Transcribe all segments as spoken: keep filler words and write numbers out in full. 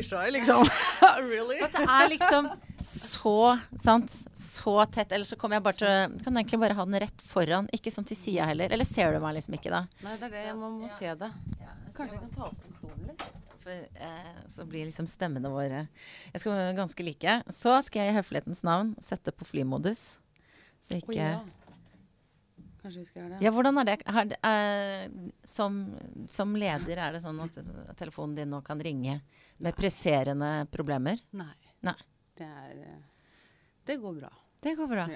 shy, liksom. Really? For at det er liksom så, sant, så tett. Eller så kommer jeg bare til å, kan egentlig bare ha den rett foran, ikke sånn til siden heller. Eller ser du meg liksom ikke da? Nei, det er det, jeg må, må se det. Ja, Kanskje jeg kan ta opp en stol litt? For, eh, så blir liksom stemmene våre jeg skal være ganske like. Så skal jeg i høflighetens navn sette på flymodus. Så ikke... Oi, ja. Kanskje vi skal gjøre det. Ja, hvordan er det? Har, eh, som, som leder er det sånn at telefonen din nå kan ringe med presserende problemer? Nei. Nei. Det er... Det går bra. Det går bra. Ja.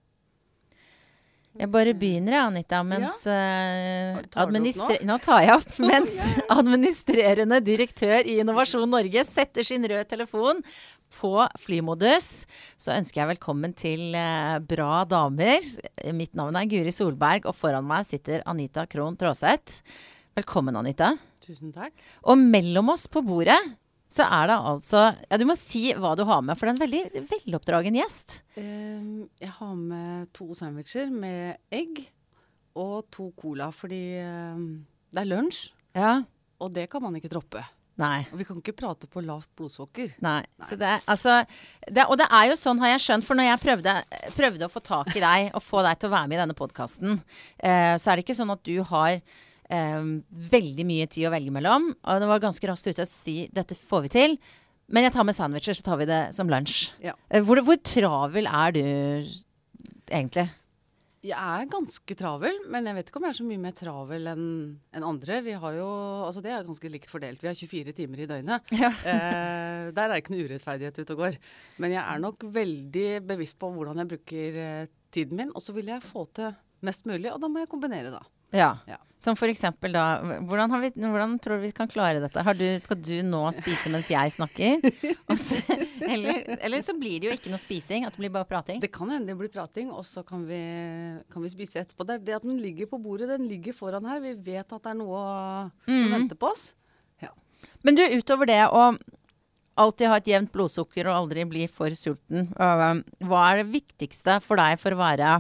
Jeg bare begynner, Anita, mens Ja. eh, Tar du opp administre- nå? tar jeg opp, mens administrerende direktør i Innovasjon Norge setter sin røde telefon på flymodus. Så ønsker jeg velkommen til eh, Bra damer. Mitt navn er Guri Solberg, og foran meg sitter Anita Krohn Traaseth. Velkommen, Anita. Tusen takk. Og mellom oss på bordet så er det altså, ja, du må si hva du har med, for det er en veldig veloppdragen gjest. Um, jeg har med to sandwicher med egg og to cola, fordi um, det er lunsj, Ja, og det kan man ikke droppe. nei. Og vi kan ikke prate på lavt blodsukker. Nei, så det, altså, det, og det er jo sånn har jeg skjønt, for når jeg prøvde, prøvde å få tak i deg og få deg til å være med i denne podcasten, eh, så er det ikke sånn at du har eh, veldig mye tid å velge mellom, og det var ganske raskt ute å si, dette får vi til, men jeg tar med sandwicher, så tar vi det som lunsj. Ja. Eh, hvor, hvor travel er du egentlig? Jeg er ganske travel, men jeg vet ikke om jeg er så mye mer travel enn enn andre. Vi har jo, altså det er ganske likt fordelt. Vi har tjuefire timer i døgnet. Ja. Eh, der er det ikke noe urettferdighet ute og går. Men jeg er nok veldig bevisst på hvordan jeg bruker eh, tiden min, og så vil jeg få til mest mulig, og da må jeg kombinere da. Ja. Ja. Som for eksempel da, hvordan, har vi, hvordan tror du vi kan klare dette? Har du, skal du nå spise mens jeg snakker? Og så, eller, eller så blir det jo ikke noe spising, at det blir bare prating. Det kan hende det blir prating, og så kan vi, kan vi spise etterpå. Det er det at den ligger på bordet, den ligger foran her. Vi vet at det er noe som Mhm. venter på oss. Ja. Men du, utover det å alltid ha et jevnt blodsukker og aldri bli for sulten, øh, hva er det viktigste for deg for å være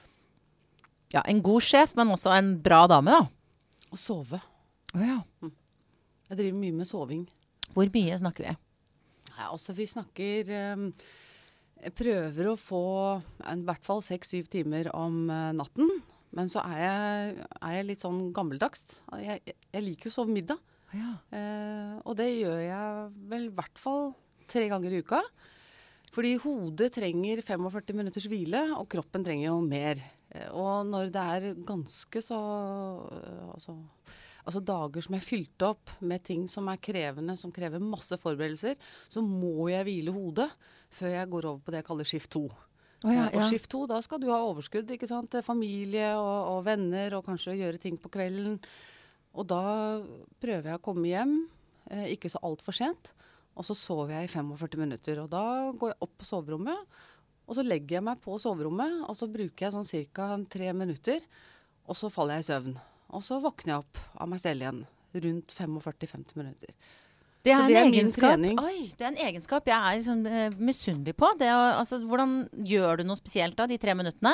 ja, en god sjef, men også en bra dame da? Og sove. Ja. Jeg driver mye med soving. Hvor mye snakker vi? Ja, altså vi snakker um, Jeg prøver å få i hvert fall seks-syv timer om uh, natten. Men så er jeg, er jeg litt sånn gammeldags. Jeg, jeg, jeg liker å sove middag. Ja. Uh, og det gjør jeg vel i hvert fall tre ganger i uka. Fordi hodet trenger førtifem minutters hvile, og kroppen trenger jo mer. Uh, og når det er ganske så uh, altså, altså dager som er fylt opp med ting som er krevende, som krever masse forberedelser, så må jeg hvile hodet før jeg går over på det jeg kaller skift to. Å ja, Og ja. skift to, da skal du ha overskudd, ikke sant? Til familie og, og venner, og kanskje gjøre ting på kvelden. Og da prøver jeg å komme hjem, eh, ikke så alt for sent, og så sover jeg i førtifem minutter. Og da går jeg opp på soverommet, og så legger jeg meg på soverommet, og så bruker jeg sånn cirka tre minutter, og så faller jeg i søvn. Og så våkner jeg opp av meg selv igjen, rundt førtifem til femti minutter. Det er, Så en det er min egenskap. trening. Oi, det er en egenskap jeg er liksom, eh, misunnelig på. Det å, altså, hvordan gjør du noe spesielt da, de tre minuttene?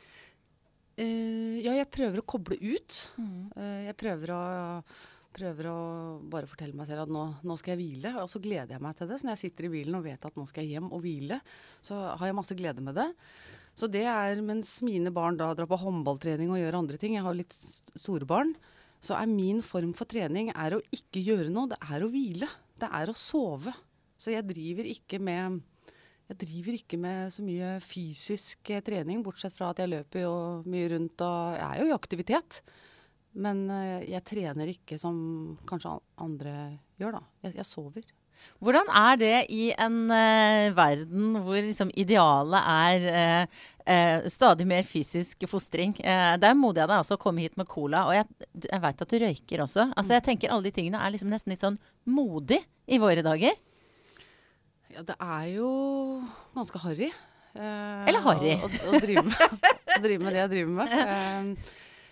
Eh, ja, jeg prøver å koble ut. Eh, jeg prøver å, prøver å bare fortelle meg selv at nå, nå skal jeg hvile, og så gleder jeg meg til det. Så når jeg sitter i bilen og vet at nå skal jeg hjem og hvile, så har jeg masse glede med det. Så det er, mens mine barn da drar på håndballtrening og gjør andre ting, jeg har litt s- store barn, så er min form for trening er å ikke gjøre noe, det er å hvile. Det er å sove. Så jeg driver ikke med, jeg driver ikke med så mye fysisk eh, trening, bortsett fra at jeg løper jo mye rundt, og jeg er jo i aktivitet. Men eh, jeg trener ikke som kanskje an- andre gjør da. Jeg, jeg sover. Hvordan er det i en eh, verden hvor liksom idealet er eh, eh, stadig mer fysisk fostring? Eh, det er modig av deg også å komme hit med cola, og jeg, du- jeg vet at du røyker også. Altså jeg tenker alle de tingene er liksom nesten litt sånn modig i våre dager. Ja, det er jo ganske harry. eh, Eller harry. Å, å, å, drive med, å drive med det jeg driver med. Eh,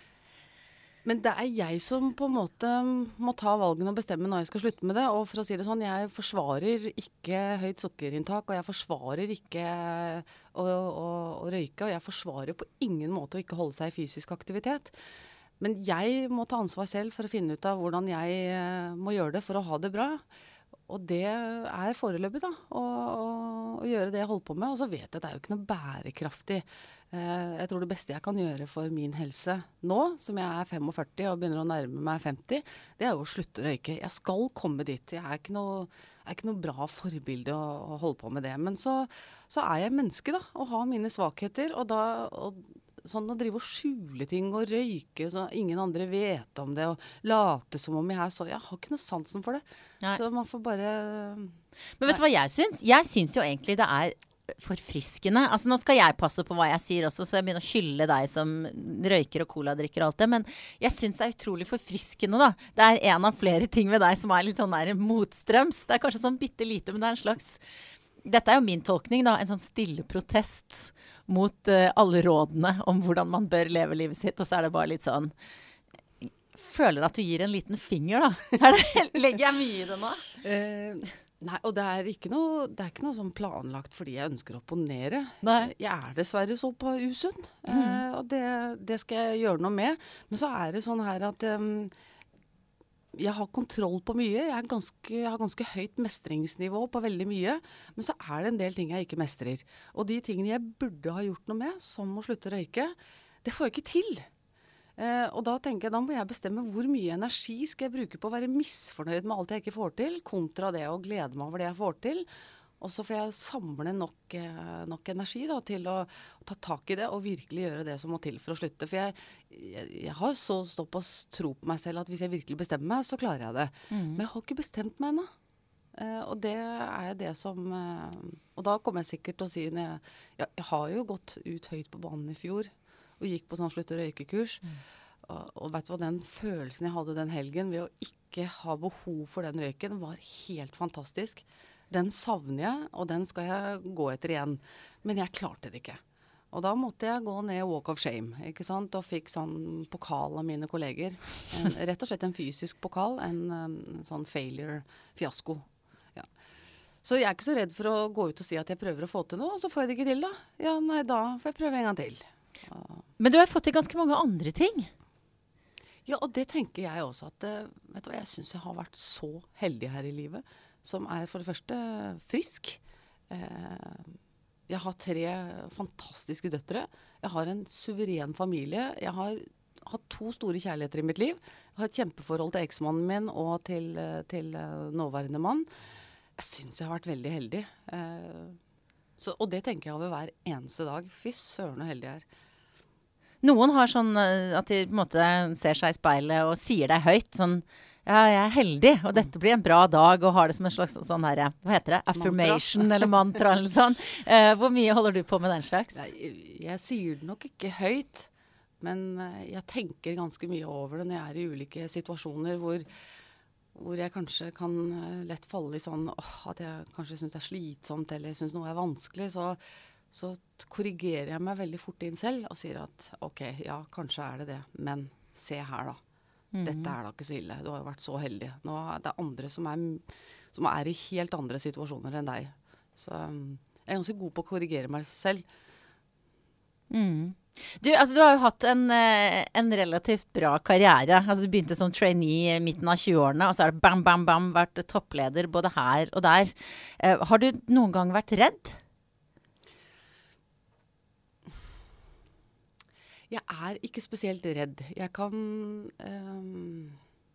men det er jeg som på en måte må ta valgene og bestemme når jeg skal slutte med det. Og for å si det sånn, jeg forsvarer ikke høyt sukkerinntak, og jeg forsvarer ikke å, å, å røyke, og jeg forsvarer på ingen måte å ikke holde seg i fysisk aktivitet. Men jeg må ta ansvar selv for å finne ut av hvordan jeg eh, må gjøre det for å ha det bra. og det er foreløpig da, å, å, å gjøre det jeg holder på med. Og så vet jeg at det er jo ikke noe bærekraftig. Eh, jeg tror det beste jeg kan gjøre for min helse nå, som jeg er femogførti og begynner å nærme meg femti, det er jo å slutte å røyke. Jeg skal komme dit. Jeg er ikke noe, er ikke noe bra forbilde å, å holde på med det. Men så, så er jeg menneske da, og har mine svakheter, og da... Og, sånn å drive og skjule ting og røyke så ingen andre vet om det og late som om jeg er så, jeg har ikke noe sansen for det. Nei. Så man får bare... Men vet du hva jeg syns? Jeg syns jo egentlig det er forfriskende. Altså nå skal jeg passe på hva jeg sier også, så jeg begynner å hylle deg som røyker og cola-drikker og alt det, men jeg syns det er utrolig forfriskende da. Det er en av flere ting ved deg som er litt sånn der motstrøms. Det er kanskje sånn bitte lite, men det er en slags... Dette er jo min tolkning da, en sånn stille protest mot uh, alle rådene om hvordan man bør leve livet sitt, og så er det bare litt sånn, føler at du gir en liten finger da. Er det, legger jeg mye i det nå? Uh, nei, og det er ikke noe, det er ikke noe sånn planlagt fordi jeg ønsker å opponere. Nei. Jeg er dessverre så på usunn, mm. uh, og det, det skal jeg gjøre noe med. Men så er det sånn her at... Um, jeg har kontroll på mye, jeg, er ganske, jeg har ganske høyt mestringsnivå på veldig mye, men så er det en del ting jeg ikke mestrer. Og de tingene jeg burde ha gjort noe med, som å slutte å røyke, det får jeg ikke til. Eh, og da tenker jeg, da må jeg bestemme hvor mye energi skal jeg bruke på å være misfornøyd med alt jeg ikke får til, kontra det å glede meg over det jeg får til. Og så får jeg samle nok, eh, nok energi da, til å, å ta tak i det og virkelig gjøre det som må til for å slutte. For jeg, jeg, jeg har så såpass tro på meg selv at hvis jeg virkelig bestemmer meg, så klarer jeg det. Mm. Men jeg har ikke bestemt meg ennå. Eh, og det er det som... Eh, og da kommer jeg sikkert til å si... Jeg, jeg, jeg har jo gått ut høyt på banen i fjor og gikk på sånn slutt- og røykekurs. Mm. Og, og vet du hva, den følelsen jeg hadde den helgen ved å ikke ha behov for den røyken var helt fantastisk. Den savner jeg, og den skal jeg gå etter igjen. Men jeg klarte det ikke. Og da måtte jeg gå ned Walk of Shame, ikke sant? Og fikk sånn pokal av mine kolleger. En, rett og slett en fysisk pokal, en, en sånn failure-fiasko. Ja. Så jeg er ikke så redd for å gå ut og si at jeg prøver å få til noe, og så får jeg det ikke til da. Ja, nei, da får jeg prøve en gang til. Ja. Men du har fått til ganske mange andre ting. Ja, og det tenker jeg også at, vet du hva, jeg synes jeg har vært så heldig her i livet, som er for det første frisk. Eh, jeg har tre fantastiske døtre. Jeg har en suveren familie. Jeg har hatt to store kjærligheter i mitt liv. Jeg har et kjempeforhold til eksmannen min og til, til nåværende mann. Jeg synes jeg har vært veldig heldig. Eh, så, og det tenker jeg over hver eneste dag. Fy søren og heldig jeg er. Noen har sånn at de på en måte ser seg i speilet og sier det høyt, sånn ja, jeg er heldig, og dette blir en bra dag, og har det som en slags sånn her, hva heter det? Affirmation mantra. Eller mantra eller sånn. Uh, hvor mye holder du på med den slags? Jeg, jeg sier det nok ikke høyt, men jeg tenker ganske mye over det når jeg er i ulike situasjoner hvor, hvor jeg kanskje kan lett falle i sånn, åh, at jeg kanskje synes det er slitsomt, eller synes noe er vanskelig, så, så korrigerer jeg meg veldig fort inn selv, og sier at, ok, ja, kanskje er det det, men se her da. Mm. Dette er da ikke så ille. Du har jo vært så heldig. Nå er det andre som er, som er i helt andre situasjoner enn deg. Så um, jeg er ganske god på å korrigere meg selv. Mm. Du, altså, du har jo hatt en, en relativt bra karriere. Altså, du begynte som trainee i midten av tjueårene, og så er det bam, bam, bam, vært toppleder både her og der. Uh, har du noen gang vært redd? Jeg er ikke spesielt redd. Jeg kan... Um,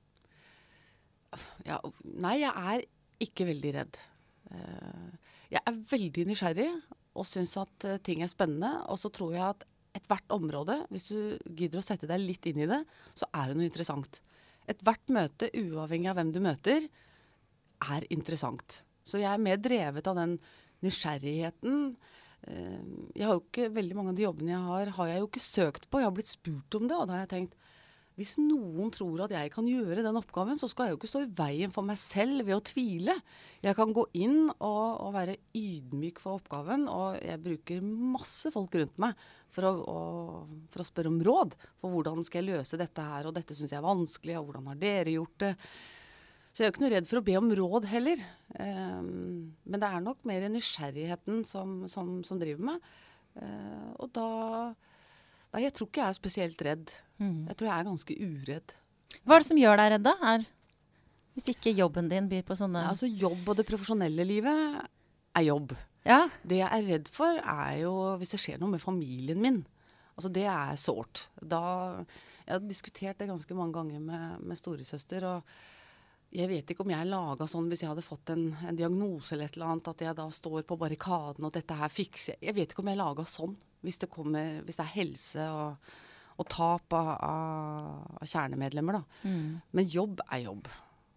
ja, nei, jeg er ikke veldig redd. Uh, jeg er veldig nysgjerrig og synes at uh, ting er spennende. Og så tror jeg at et hvert område, hvis du gidder å sette deg litt inn i det, så er det noe interessant. Et hvert møte, uavhengig av hvem du møter, er interessant. Så jeg er mer drevet av den nysgjerrigheten. Jeg har jo ikke, veldig mange av de jobbene jeg har, har jeg jo ikke søkt på. Jeg har blitt spurt om det, og da har jeg tenkt, hvis noen tror at jeg kan gjøre den oppgaven, så skal jeg jo ikke stå i veien for meg selv ved å tvile. Jeg kan gå inn og, og være ydmyk for oppgaven, og jeg bruker masse folk rundt meg for å, og, for å spørre om råd. For hvordan skal jeg løse dette her, og dette synes jeg er vanskelig, og hvordan har dere gjort det? Så jeg er jo ikke noe redd for å be om råd heller. Um, men det er nok mer nysgjerrigheten som, som, som driver meg. Uh, og da... Nei, jeg tror ikke jeg er spesielt redd. Mm. Jeg tror jeg er ganske uredd. Hva er det som gjør deg redd da? Er... Hvis ikke jobben din byr på sånne... Ja, altså jobb og det profesjonelle livet er jobb. Ja. Det jeg er redd for er jo hvis det skjer noe med familien min. Altså det er sårt. Da, jeg har diskutert det ganske mange ganger med, med storesøster, og jeg vet ikke om jeg laget sånn hvis jeg hadde fått en, en diagnose eller et eller annet, at jeg da står på barrikaden og dette her fikser jeg. Jeg vet ikke om jeg laget sånn, hvis det, kommer, hvis det er helse og, og tap av, av, av kjernemedlemmer da. Mm. Men jobb er jobb.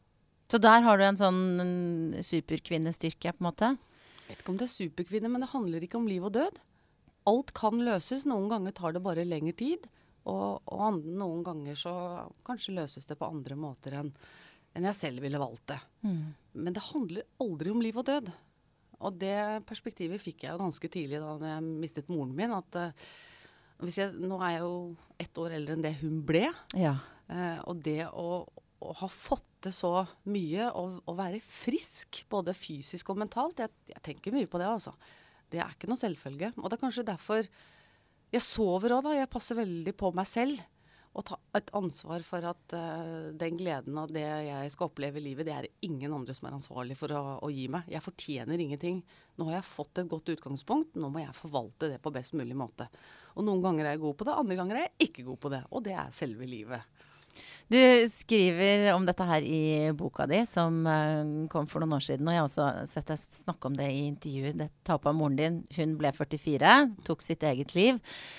Så der har du en sånn superkvinnestyrke på en måte? Jeg vet ikke om det er superkvinne, men det handler ikke om liv og død. Alt kan løses, noen ganger tar det bare lengre tid, og, og noen ganger så kanskje løses det på andre måter enn enn jeg selv ville valgt det. Mm. Men det handler aldri om liv og død. Og det perspektivet fikk jeg jo ganske tidlig da jeg mistet moren min, at uh, hvis jeg, nå er jeg jo ett år eldre enn det hun ble, ja. uh, og det å, å ha fått det så mye, og, og være frisk, både fysisk og mentalt, jeg, jeg tenker mye på det altså. Det er ikke noe selvfølge. Og det er kanskje derfor jeg sover også da, jeg passer veldig på meg selv, og ta et ansvar for at uh, den gleden og det jeg skal oppleve i livet, det er ingen andre som er ansvarlig for å, å gi meg. Jeg fortjener ingenting. Nå har jeg fått et godt utgangspunkt, nå må jeg forvalte det på best mulig måte. Og noen ganger er jeg god på det, andre ganger er jeg ikke god på det. Og det er selve livet. Du skriver om dette her i boka di, som uh, kom for noen år siden, og jeg har også sett deg snakke om det i intervjuet. Det tapet av moren din, hun ble førtifire, tok sitt eget liv.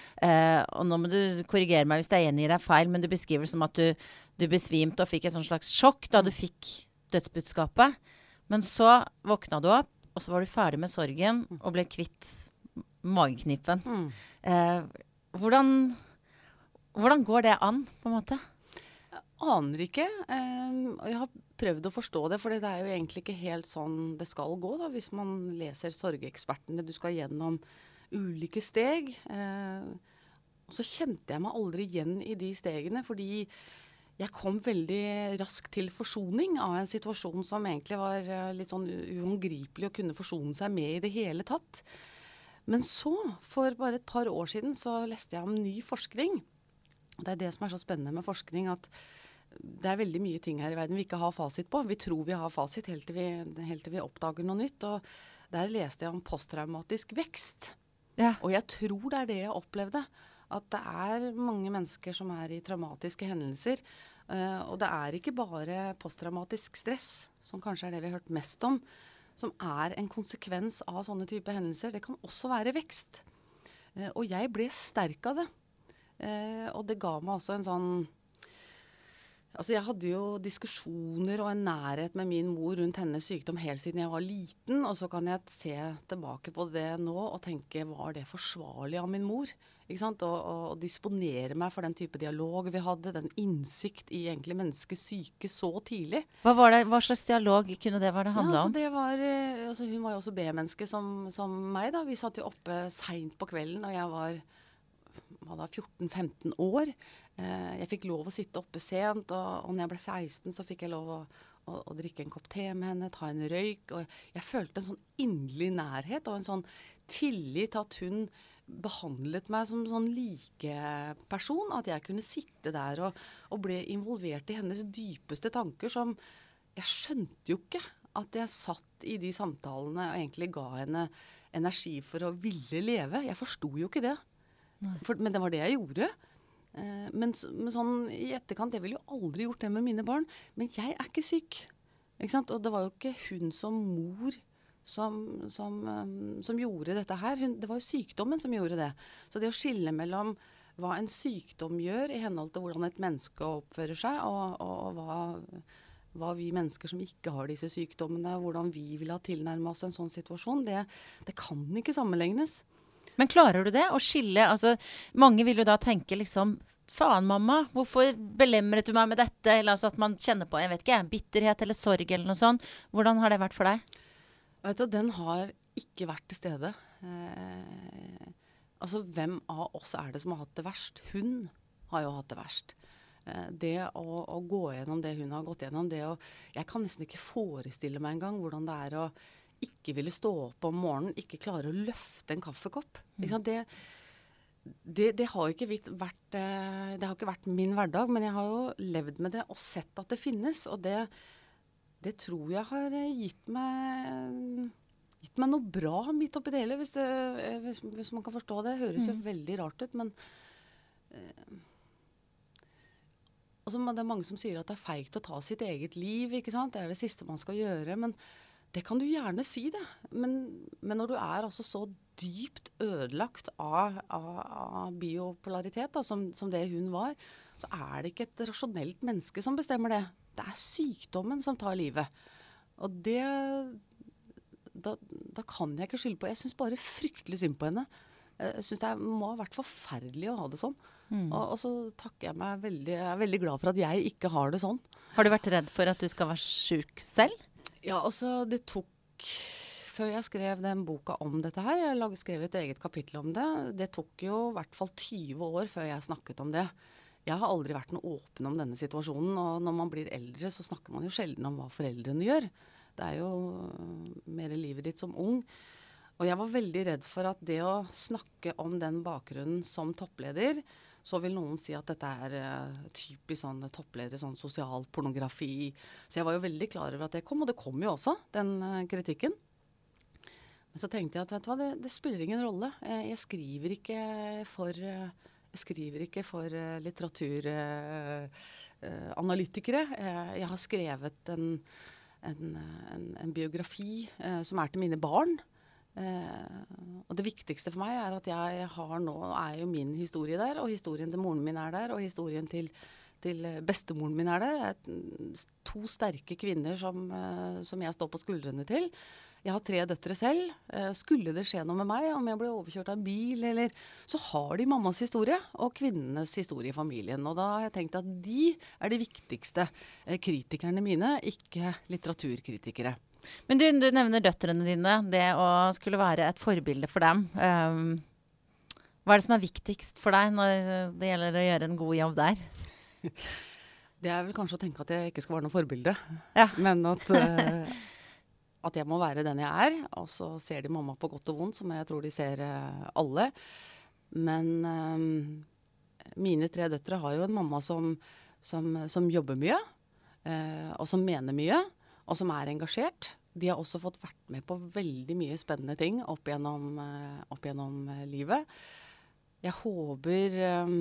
Uh, og nå må du korrigere meg hvis jeg gjengir deg feil, men du beskriver det som at du, du besvimte og fikk et sånn slags sjokk da du fikk dødsbudskapet. Men så våkna du opp, og så var du ferdig med sorgen og ble kvitt mageknipen. Mm. Uh, hvordan, hvordan går det an, på en måte? Jeg aner ikke. Um, og jeg har prøvd å forstå det, for det er jo egentlig ikke helt sånn det skal gå da, hvis man leser Sorgeekspertene. Du skal gjennom ulike steg. Uh, og så kjente jeg meg aldri igjen i de stegene, fordi jeg kom veldig raskt til forsoning av en situasjon som egentlig var uh, litt sånn uhåndgripelig å kunne forsone seg med i det hele tatt. Men så, for bare et par år siden, så leste jeg om ny forskning. Det er det som er så spennende med forskning, at det er veldig mye ting her i verden vi ikke har fasit på. Vi tror vi har fasit helt til vi, helt til vi oppdager noe nytt. Og der leste jeg om posttraumatisk vekst. Ja. Og jeg tror det er det jeg opplevde. At det er mange mennesker som er i traumatiske hendelser. Uh, og det er ikke bare posttraumatisk stress, som kanskje er det vi har hørt mest om, som er en konsekvens av sånne type hendelser. Det kan også være vekst. Uh, og jeg ble sterk av det. Uh, og det ga meg også en sånn... Altså jeg hadde jo diskusjoner og en nærhet med min mor rundt hennes sykdom helt siden jeg var liten, og så kan jeg se tilbake på det nå og tenke, var det forsvarlig av min mor? Ikke sant? Og, og, og disponere meg for den type dialog vi hadde, den innsikt i egentlig menneskets syke så tidlig. Hva, var det, hva slags dialog kunne det være det handlet ja, altså om? Det var, altså hun var jo også B-menneske som, som meg da. Vi satt jo oppe sent på kvelden, og jeg var, var da fjorten femten år. Jeg fikk lov å sitte oppe sent, og, og når jeg ble seksten så fikk jeg lov å, å, å drikke en kopp te med henne, ta en røyk, og jeg følte en sånn inderlig nærhet og en sånn tillit til at hun behandlet meg som sånn likeperson, at jeg kunne sitte der og, og ble involvert i hennes dypeste tanker, som jeg skjønte jo ikke at jeg satt i de samtalene og egentlig ga henne energi for å ville leve. Jeg forsto jo ikke det, for, men det var det jeg gjorde. Uh, men, men sånn i etterkant, jeg ville jo aldri gjort det med mine barn, men jeg er ikke syk, ikke sant? Og det var jo ikke hun som mor som, som, um, som gjorde dette her, hun, det var jo sykdommen som gjorde det. Så det å skille mellom hva en sykdom gjør i henhold til hvordan et menneske oppfører seg, og, og, og hva, hva vi mennesker som ikke har disse sykdommene, hvordan vi vil ha tilnærmet oss en sånn situasjon, det, det kan ikke sammenlignes. Men klarer du det å skille? Altså, mange vil jo da tenke liksom, faen mamma, hvorfor belemret du meg med dette? Eller altså at man kjenner på, jeg vet ikke, bitterhet eller sorg eller noe sånt. Hvordan har det vært for deg? Vet du, den har ikke vært til stede. Eh, altså, hvem av oss er det som har hatt det verst? Hun har jo hatt det verst. Eh, det å, å gå gjennom det hun har gått gjennom, det å, jeg kan nesten ikke forestille meg en gang hvordan det er å ikke ville stå opp om morgenen, ikke klare å løfte en kaffekopp. Mm. Ikke sant? Det, det, det har jo ikke vært, det har ikke vært min hverdag, men jeg har jo levd med det og sett at det finnes. Og det, det tror jeg har eh, gitt meg gitt meg noe bra midt oppi det hele, hvis, det, eh, hvis, hvis man kan forstå det. Det høres jo Mm. veldig rart ut, men eh, altså, det er mange som sier at det er feigt å ta sitt eget liv, ikke sant? Det er det siste man skal gjøre, men det kan du gjerne si det. Men, men når du er altså så dypt ødelagt av, av, av biopolaritet, da, som, som det hun var, så er det ikke et rasjonelt menneske som bestemmer det. Det er sykdommen som tar livet. Og det, da, da kan jeg ikke skylde på. Jeg synes bare fryktelig synd på henne. Jeg synes det må ha vært forferdelig å ha det sånn. Mm. Og, og så takker jeg meg veldig, jeg er veldig glad for at jeg ikke har det sånn. Har du vært redd for at du skal være syk selv? Ja, altså det tok, før jeg skrev den boka om dette her, jeg lag, skrev et eget kapittel om det, det tok jo i hvert fall tyve år før jeg snakket om det. Jeg har aldri vært noe åpen om denne situasjonen, og når man blir eldre så snakker man jo sjelden om hva foreldrene gjør. Det er jo mer livet ditt som ung. Og jeg var veldig redd for at det å snakke om den bakgrunnen som toppleder, så vil noen si at dette er uh, typisk sånn toppleder, sånn sosial pornografi. Så jeg var jo veldig klar over at det kom, og det kom jo også, den uh, kritikken. Men så tenkte jeg at vet du hva, det, det spiller ingen rolle. Jeg, jeg skriver ikke for, uh, jeg skriver ikke for uh, litteraturanalytikere. Uh, uh, jeg, jeg har skrevet en, en, en, en biografi uh, som er til mine barn. Uh, og det viktigste for meg er at jeg har nå, er jo min historie der, og historien til moren min er der, og historien til, til bestemoren min er der. Det er to sterke kvinner som, uh, som jeg står på skuldrene til. Jeg har tre døtre selv. Uh, skulle det skje noe med meg, om jeg ble overkjørt av en bil, eller, så har de mammas historie, og kvinnenes historie i familien. Og da har jeg tenkt at de er de viktigste uh, kritikerne mine, ikke litteraturkritikere. Men du, du nevner døtrene dine, det å skulle være et forbilde for dem. Um, hva er det som er viktigst for deg når det gjelder å gjøre en god jobb der? Det er vel kanskje å tenke at jeg ikke skal være noe forbilde, ja. Men at, uh, at jeg må være den jeg er, og så ser de mamma på godt og vondt, som jeg tror de ser uh, alle. Men um, mine tre døtre har jo en mamma som, som, som jobber mye, uh, og som mener mye, og som er engasjert. De har også fått vært med på veldig mye spennende ting opp gjennom, uh, opp gjennom uh, livet. Jeg håper, um,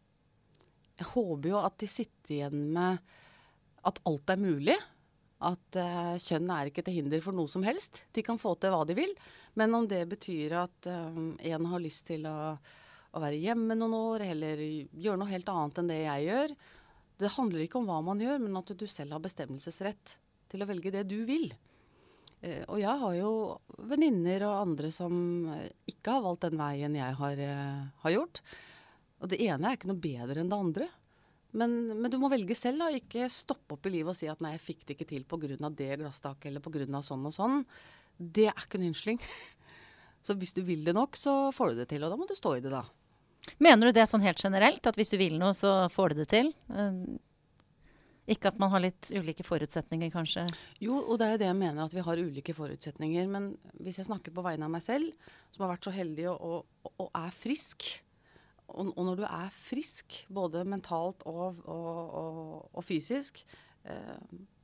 jeg håper jo at de sitter igjen med at alt er mulig. At uh, kjønn er ikke til hinder for noe som helst. De kan få til hva de vil. Men om det betyr at um, en har lyst til å, å være hjemme noen år, eller gjøre noe helt annet enn det jeg gjør. Det handler ikke om hva man gjør, men at du selv har bestemmelsesrett til å velge det du vil. Eh, og jeg har jo venninner og andre som ikke har valgt den veien jeg har, eh, har gjort. Og det ene er ikke noe bedre enn det andre. Men, men du må velge selv, da. Ikke stoppe opp i livet og si at nei, jeg fikk det ikke til på grunn av det glasstaket, eller på grunn av sånn og sånn. Det er ikke en unnskyldning. Så hvis du vil det nok, så får du det til, og da må du stå i det da. Mener du det sånn helt generelt, at hvis du vil noe, så får du det til? Uh, Ikke at man har litt ulike forutsetninger, kanskje? Jo, og det er det jeg mener, at vi har ulike forutsetninger. Men hvis jeg snakker på vegne av meg selv, som har vært så heldig og, og, og er frisk, og, og når du er frisk, både mentalt og, og, og, og fysisk, eh,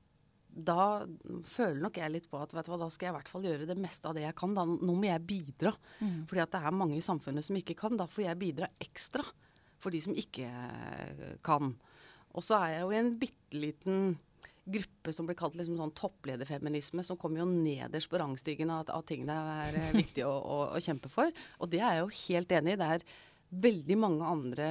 da føler nok jeg litt på at vet du hva, da skal jeg i hvert fall gjøre det meste av det jeg kan. Da, nå må jeg bidra. Mm. Fordi at det er mange i samfunnet som ikke kan. Da får jeg bidra ekstra for de som ikke kan. Og så er jeg jo i en bitteliten gruppe som blir kalt liksom sånn topplederfeminisme, som kommer jo nederst på rangstigen av, av ting det er eh, viktig å, å, å kjempe for. Og det er jeg jo helt enig i. Det er veldig mange andre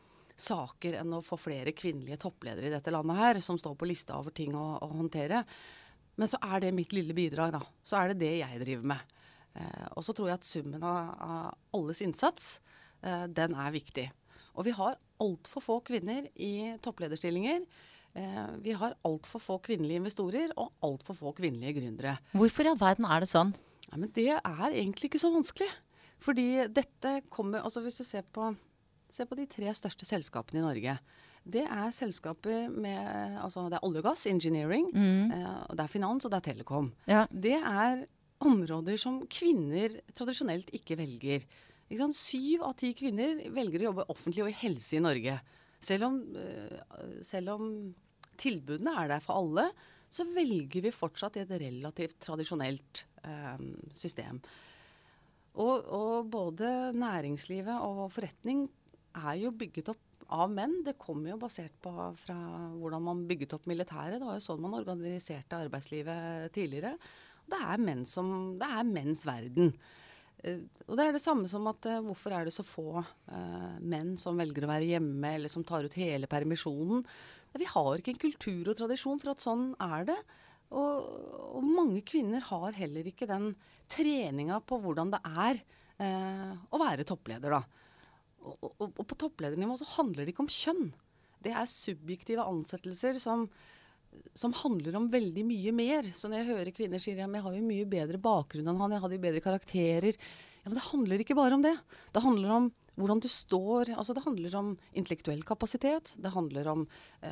saker enn å få flere kvinnelige toppledere i dette landet her, som står på lista over ting å, å håndtere. Men så er det mitt lille bidrag, da. Så er det det jeg driver med. Eh, og så tror jeg at summen av, av alles innsats, eh, den er viktig. Og vi har alt for få kvinner i topplederstillinger. Eh, vi har alt for få kvinnelige investorer og alt for få kvinnelige gründere. Hvorfor i all verden er det sånn? Ja, men det er egentlig ikke så vanskelig. Fordi dette kommer, altså hvis du ser på, ser på de tre største selskapene i Norge, det er selskaper med, altså det er olje og gass, engineering, mm. eh, det er finans og det er telekom. Ja. Det er områder som kvinner tradisjonelt ikke velger. Ikke sant? Syv av ti kvinner velger å jobbe offentlig og i helse i Norge. Selv om, uh, selv om tilbudene er der for alle, så velger vi fortsatt i et relativt tradisjonelt eh, system. Og, og både næringslivet og forretning er jo bygget opp av menn. Det kommer jo basert på fra hvordan man bygget opp militæret. Det var jo sånn man organiserte arbeidslivet tidligere. Det er, menn som, det er menns verden. Uh, og det er det samme som at uh, hvorfor er det så få uh, menn som velger å være hjemme, eller som tar ut hele permisjonen. Vi har ikke en kultur og tradisjon for at sånn er det. Og, og mange kvinner har heller ikke den treninga på hvordan det er uh, å være toppleder, da. Og, og, og på toppledernivå så handler det ikke om kjønn. Det er subjektive ansettelser som, som handler om veldig mye mer. Så når jeg hører kvinner sier ja, men jeg har jo mye bedre bakgrunn enn han, jeg hadde jo bedre karakterer. Ja, men det handler ikke bare om det. Det handler om hvordan du står, altså det handler om intellektuell kapasitet, det handler om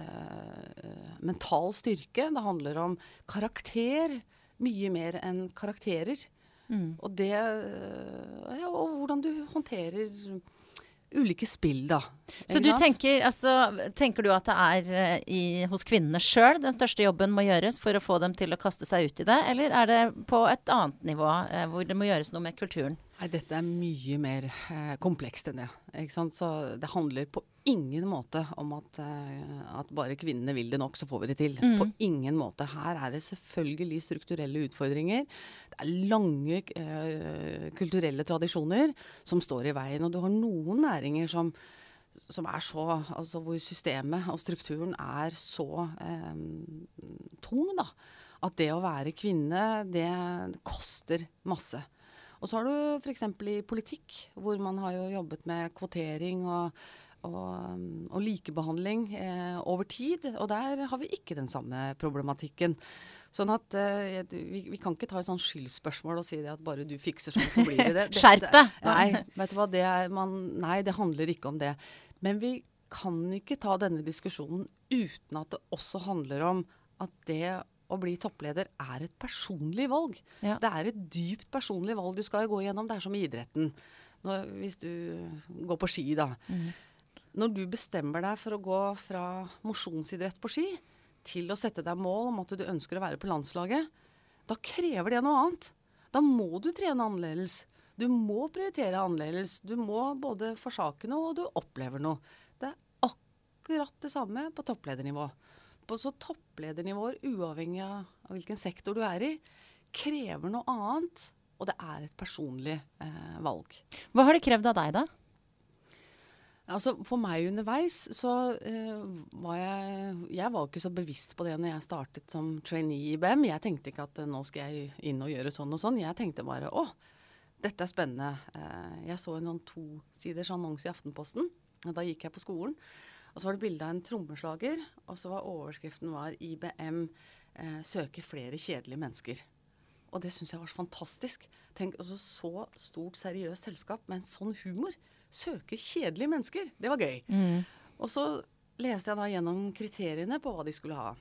eh, mental styrke, det handler om karakter, mye mer enn karakterer. Mm. Og det, ja, og hvordan du håndterer ulike spill, da. Så du tenker, altså, tenker du at det er uh, i, hos kvinnene selv den største jobben må gjøres for å få dem til å kaste seg ut i det, eller er det på et annet nivå uh, hvor det må gjøres noe med kulturen? Nei, dette er mye mer eh, komplekst enn det, ikke sant? Så det handler på ingen måte om at, eh, at bare kvinnene vil det nok, så får vi det til. Mm. På ingen måte. Her er det selvfølgelig strukturelle utfordringer. Det er lange eh, kulturelle tradisjoner som står i veien, og du har noen næringer som, som er så, altså hvor systemet og strukturen er så eh, tung, da. At det å være kvinne, det koster masse. Og så har du for eksempel i politikk, hvor man har jo jobbet med kvotering og, og, og likebehandling eh, over tid, og der har vi ikke den samme problematikken. Sånn at eh, vi, vi kan ikke ta et sånn skyldspørsmål og si det at bare du fikser sånn, så blir det det. Skjerp deg! Nei, vet du hva, det er man, nei, det handler ikke om det. Men vi kan ikke ta denne diskusjonen uten at det også handler om at det å bli toppleder er et personlig valg. Ja. Det er et dypt personlig valg du skal gå gjennom. Det er som i idretten. Når, hvis du går på ski, da. Mm. Når du bestemmer deg for å gå fra mosjonsidrett på ski til å sette deg mål om at du ønsker å være på landslaget, da krever det noe annet. Da må du trene annerledes. Du må prioritere annerledes. Du må både forsake noe, og du opplever noe. Det er akkurat det samme på toppledernivå. På så toppledernivåer, uavhengig av hvilken sektor du er i, krever noe annet, og det er et personlig eh, valg. Hva har det krevd av deg da? Altså, for meg underveis, så eh, var jeg, jeg var ikke så bevisst på det når jeg startet som trainee i I B M. Jeg tenkte ikke at nå skal jeg inn og gjøre sånn og sånn. Jeg tenkte bare, å, dette er spennende. Eh, jeg så en sånn to-siders annonse i Aftenposten, og da gikk jeg på skolen. Og så var det bildet av en trommeslager, og så var overskriften var I B M eh, søker flere kjedelige mennesker. Og det synes jeg var så fantastisk. Tenk, altså så stort, seriøst selskap med en sånn humor søker kjedelige mennesker. Det var gøy. Mm. Og så leste jeg da gjennom kriteriene på hva de skulle ha.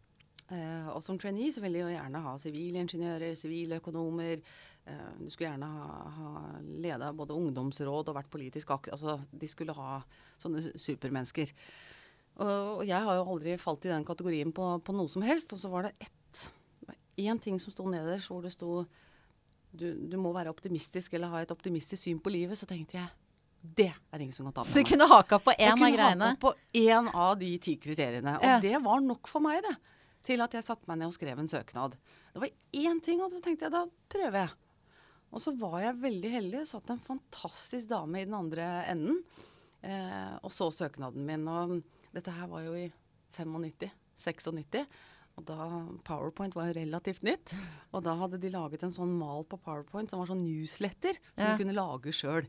Eh, og som trainee så ville de jo gjerne ha sivilingeniører, siviløkonomer. Eh, du skulle gjerne ha, ha ledet både ungdomsråd og vært politisk aktiv. Altså, de skulle ha sånne supermennesker. Og, og jeg har jo aldri falt i den kategorien på, på noe som helst. Og så var det ett, en ting som sto nederst, hvor det sto du, du må være optimistisk eller ha et optimistisk syn på livet. Så tenkte jeg, det er ingen som kan ta med meg. Så du kunne haka på en av greiene? Jeg kunne haka på en av de ti kriteriene. Og ja. Det var nok for meg, det. Til at jeg satte meg ned og skrev en søknad. Det var én ting, og så tenkte jeg, da prøver jeg. Og så var jeg veldig heldig, satt en fantastisk dame i den andre enden, eh, og så søknaden min. Og dette her var jo i nittifem, nittien-sekstiseks, og da PowerPoint var jo relativt nytt. Og da hadde de laget en sånn mal på PowerPoint som var sånn newsletter, som ja. Du kunne lage selv.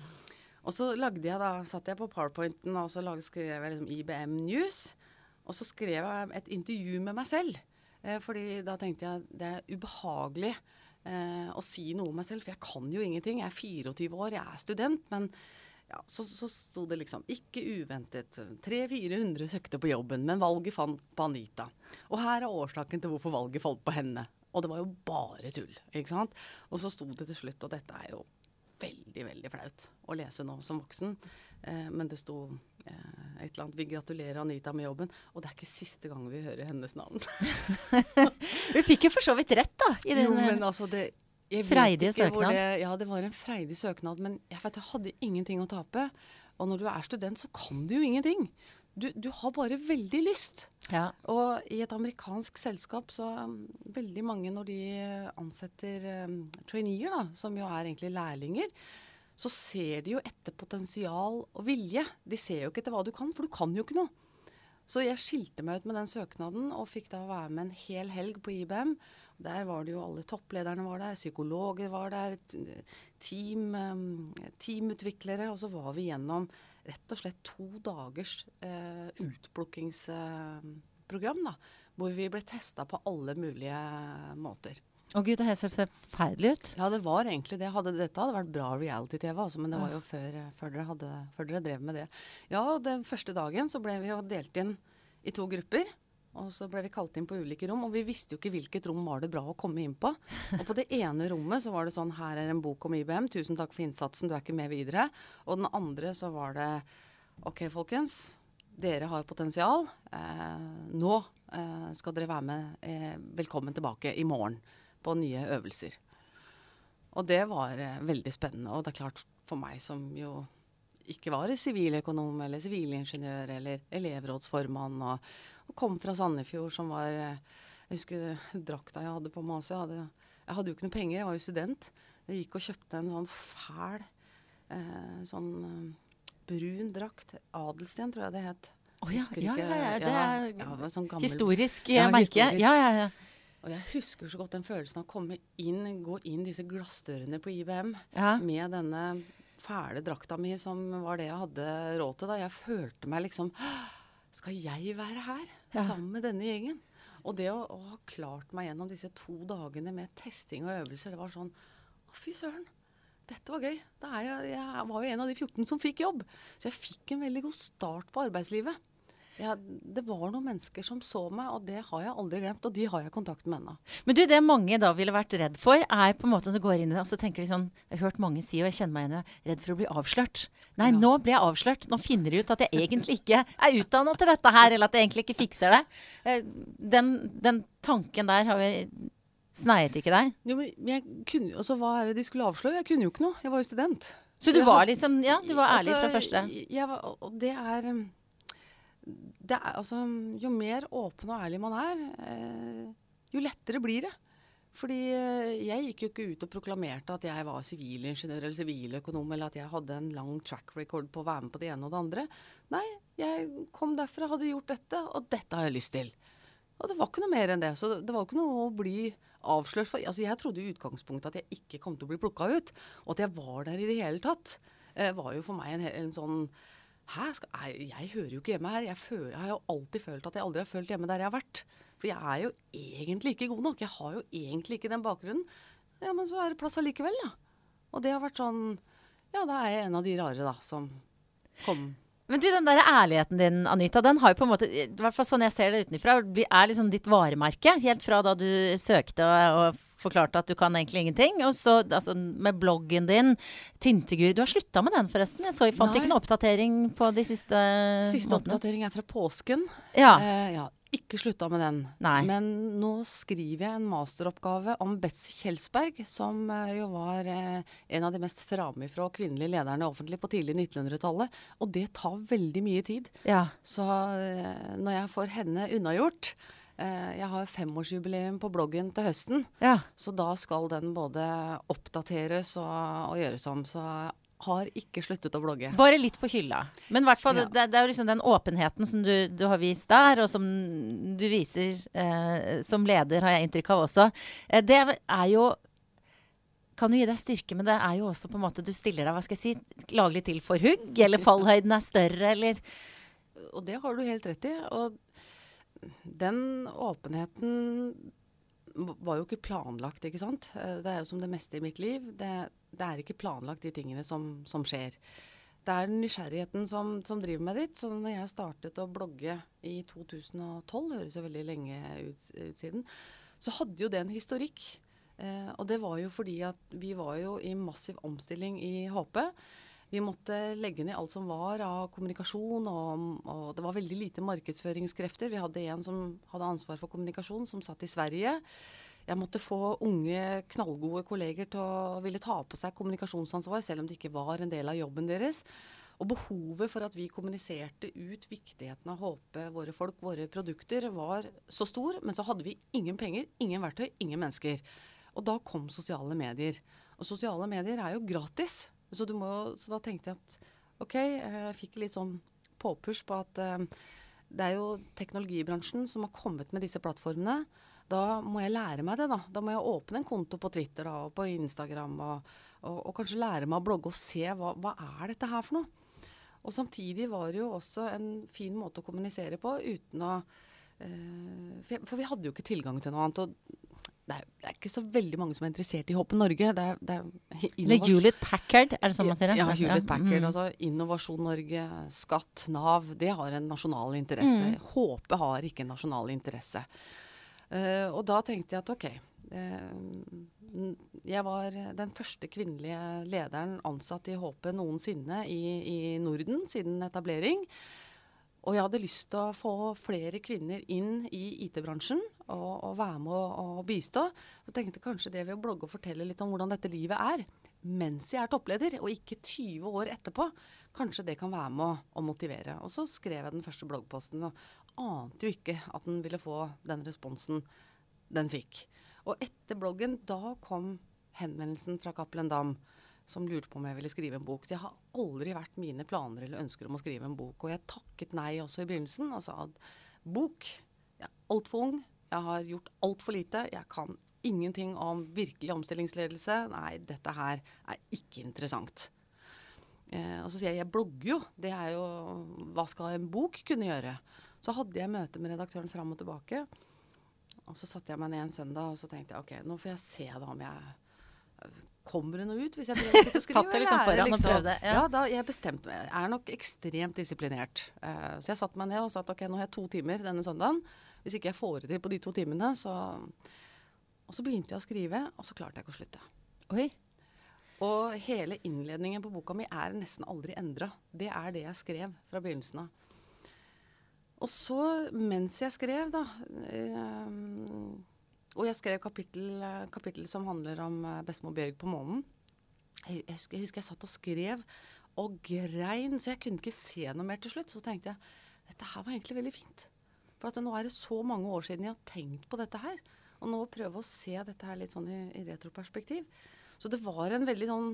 Og så lagde jeg da, satt jeg på PowerPointen, og så lagde, skrev jeg liksom I B M News. Og så skrev jeg et intervju med meg selv, eh, fordi da tenkte jeg det er ubehagelig eh, å si noe om meg selv, for jeg kan jo ingenting. Jeg er fireogtyve år, jeg er student, men ja, så, så sto det liksom, ikke uventet, tre til fire hundre søkte på jobben, men valget fant på Anita. Og her er årsaken til hvorfor valget falt på henne. Og det var jo bare tull, ikke sant? Og så sto det til slutt, og dette er jo veldig, veldig flaut å lese nå som voksen, eh, men det sto... Eh, et eller annet. Vi gratulerer Anita med jobben, og det er ikke siste gang vi hører hennes navn. Du fikk jo for så vidt rett da, i den jo, men altså det, jeg freidige vet ikke hvor søknad. Det, ja, det var en freidig søknad, men jeg vet, jeg hadde ingenting å tape. Og når du er student, så kan du jo ingenting. Du, du har bare veldig lyst. Ja. Og i et amerikansk selskap, så um, veldig mange når de ansetter um, traineer, da, som jo er egentlig lærlinger, så ser de jo etter potensial og vilje. De ser jo ikke etter hva du kan, for du kan jo ikke noe. Så jeg skilte meg ut med den søknaden, og fikk da være med en hel helg på I B M. Der var det jo alle topplederne var der, psykologer var der, team, teamutviklere, og så var vi gjennom rett og slett to dagers eh, utplukkingsprogram, da, hvor vi ble testet på alle mulige måter. Å Gud, det har sett forferdelig ut. Ja, det var egentlig det. Hadde, dette hadde vært bra reality-T V, altså, men det var jo før, før, dere hadde, før dere drev med det. Ja, den første dagen så ble vi jo delt inn i to grupper. Og så ble vi kalt inn på ulike rom, og vi visste jo ikke hvilket rom var det bra å komme inn på. Og på det ene rommet så var det sånn, her er en bok om I B M, tusen takk for innsatsen, du er ikke med videre. Og den andre så var det, ok folkens, dere har potensial, eh, nå eh, skal dere være med, eh, velkommen tilbake i morgen på nye øvelser. Og det var eh, veldig spennende, og det er klart for meg som jo ikke var siviløkonom eller sivilingeniør eller elevrådsformann, og, og kom fra Sandefjord som var, jeg husker drakta jeg hadde på meg også, jeg hadde, jeg hadde jo ikke noe penger, jeg var jo student. Jeg gikk og kjøpte en sånn fæl, eh, sånn eh, brun drakt, Adelsten tror jeg det het. Å ja, Husker ja, ikke- ja, ja, det ja, er ja, det var sånn gammel- historisk Ja, merke. historisk. Ja, ja, ja. Og jeg husker så godt den følelsen av å komme inn, gå inn disse glassdørene på I B M, Ja. med denne fæle drakta mi som var det jeg hadde råd til da. Jeg følte meg liksom, skal jeg være her Ja. sammen med denne gjengen? Og det å, å ha klart meg gjennom disse to dagene med testing og øvelser, det var sånn, å fy søren, dette var gøy. Da er jeg, jeg var jo en av de fjorten som fikk jobb. Så jeg fikk en veldig god start på arbeidslivet. Ja, det var noen mennesker som så meg, og det har jeg aldri glemt, og de har jeg kontakt med ennå. Men du, det mange da ville vært redd for, er på en måte når du går inn i det, og så tenker de sånn, jeg har hørt mange si, og jeg kjenner meg igjen, jeg er redd for å bli avslørt. Nei, Ja. nå blir jeg avslørt. Nå finner de ut at jeg egentlig ikke er utdannet til dette her, eller at jeg egentlig ikke fikser det. Eh, Den, den tanken der har vi sneiet ikke deg. Jo, men jeg kunne, altså, hva er det de skulle avsløre? Jeg kunne jo ikke noe. Jeg var jo student. Så du Jeg var had- liksom, ja, du var ærlig fra Altså, første. Jeg var, og det er, um, det er altså, jo mer åpen og ærlig man er, eh, jo lettere blir det. Fordi eh, jeg gikk jo ikke ut og proklamerte at jeg var sivilingeniør eller siviløkonom, eller at jeg hadde en lang track record på å være med på det ene og det andre. Nei, jeg kom derfra, hadde gjort dette, og dette har jeg lyst til. Og det var ikke noe mer enn det. Så det, det var ikke noe å bli avslørt for. Altså, jeg trodde i utgangspunktet at jeg ikke kom til å bli plukka ut, og at jeg var der i det hele tatt, eh, var jo for meg en, en sånn Hæ? Skal, jeg, jeg hører jo ikke hjemme her. Jeg, føler, jeg har jo alltid følt at jeg aldri har følt hjemme der jeg har vært. For jeg er jo egentlig ikke god nok. Jeg har jo egentlig ikke den bakgrunnen. Ja, men så er det plass allikevel, da. Og det har vært sånn Ja, da er jeg en av de rare, da, som kom. Men du, den der ærligheten din, Anita, den har jo på en måte, i hvert fall sånn jeg ser det utenfra, blir- er liksom ditt varemerke, helt fra da du søkte og, og forklarte at du kan egentlig ingenting. Og så altså, med bloggen din, Tintegur, du har sluttet med den forresten. Jeg så, jeg fant Nei. ikke noen oppdatering på de siste Siste månedene. oppdatering er fra påsken. Ja. Eh, ja, ikke slutta med den. Nei. Men nå skriver jeg en masteroppgave om Betsy Kjelsberg, som eh, jo var eh, en av de mest framifrå kvinnelige lederne offentlig på tidlig nittenhundretallet. Og det tar veldig mye tid. Ja. Så eh, når jeg får henne unnagjort eh, Jeg har femårsjubileum på bloggen til høsten, Ja. så da skal den både oppdateres og, og gjøres om. Så jeg har ikke sluttet å blogge. Bare litt på hylla. Men i hvert fall, Ja. det, det er jo liksom den åpenheten som du, du har vist der, og som du viser eh, som leder, har jeg inntrykk av også. Eh, det er jo kan jo gi deg styrke, men det er jo også på en måte du stiller deg, hva skal jeg si, laglig til for hugg, eller fallhøyden er større, eller Og det har du helt rett i. Og den åpenheten var jo ikke planlagt, ikke sant? Eh, Det er jo som det meste i mitt liv. Det, det er ikke planlagt de tingene som, som skjer. Det er nysgjerrigheten som, som driver meg dit. Så når jeg startet å blogge i to tusen og tolv, høres jo veldig lenge ut, ut siden, så hadde jo det en historikk. Eh, og det var jo fordi at vi var jo i massiv omstilling i H P. Vi måtte legge ned alt som var av kommunikasjon, og, og det var veldig lite markedsføringskrefter. Vi hadde en som hadde ansvar for kommunikasjon, som satt i Sverige. Jeg måtte få unge, knallgode kolleger til å ville ta på seg kommunikasjonsansvar, selv om det ikke var en del av jobben deres. Og behovet for at vi kommuniserte ut viktigheten av H P, våre folk, våre produkter, var så stor, men så hadde vi ingen penger, ingen verktøy, ingen mennesker. Og da kom sosiale medier. Og sosiale medier er jo gratis. Så, du må, så da tenkte jeg at, ok, jeg fikk litt sånn påpush på at uh, det er jo teknologibransjen som har kommet med disse plattformene. Da må jeg lære meg det da. Da må jeg åpne en konto på Twitter da, og på Instagram, og, og, og kanskje lære meg å blogge og se hva, hva er dette her for noe. Og samtidig var det jo også en fin måte å kommunisere på uten å eh, for, for vi hadde jo ikke tilgang til noe annet. Og det er, det er ikke så veldig mange som er interessert i H P Norge. Det er, det er Eller Hewlett Packard, er det sånn man sier det? Ja, Hewlett ja. Packard. Mm. Altså Innovasjon Norge, Skatt, Nav, det har en nasjonal interesse. Mm. H P har ikke en nasjonal interesse. Uh, og da tenkte jeg at ok, uh, jeg var den første kvinnelige lederen ansatt i H P noensinne i, i Norden siden etablering. Og jeg hadde lyst til å få flere kvinner inn i I T-bransjen og, og være med å, å bistå. Så tenkte jeg kanskje det ved å blogge og fortelle litt om hvordan dette livet er, mens jeg er toppleder, og ikke tyve år etterpå, kanskje det kan være med å, å motivere. Og så skrev jeg den første bloggposten, og ante jo ikke at den ville få den responsen den fikk. Og etter bloggen, da kom henvendelsen fra Cappelen Damm, som lurte på om jeg ville skrive en bok. Det har aldri vært mine planer eller ønsker om å skrive en bok. Og jeg takket nei også i begynnelsen, og sa at bok, jeg er alt for ung, jeg har gjort alt for lite, jeg kan ingenting om virkelig omstillingsledelse. Nei, dette her er ikke interessant. Eh, og så sier jeg, jeg blogger jo, det er jo, hva skal en bok kunne gjøre? Så hadde jeg møte med redaktøren fram og tilbake, og så satte jeg meg ned en søndag, og så tenkte jeg, ok, nå får jeg se da om jeg kommer det noe ut hvis jeg prøver å skrive. Satt jeg liksom foran liksom. og prøvde? Ja, ja da, jeg bestemte meg. Jeg er nok ekstremt disiplinert. Uh, så jeg satte meg ned og sa at ok, nå har jeg to timer denne søndagen. Hvis ikke jeg får det til på de to timene, så... Og så begynte jeg å skrive, og så klarte jeg ikke å slutte. Oi. Og hele innledningen på boka mi er nesten aldri endret. Det er det jeg skrev fra begynnelsen av. Og så, mens jeg skrev da... Uh, Og jeg skrev kapittel, kapittel som handler om bestemor Bjørg på månen. Jeg, jeg, husker, jeg husker jeg satt og skrev og grein, så jeg kunne ikke se noe mer til slutt. Så tenkte jeg, dette her var egentlig veldig fint. For at nå er det så mange år siden jeg har tenkt på dette her. Og nå prøve å se dette her litt sånn i, i retroperspektiv. Så det var en veldig sånn...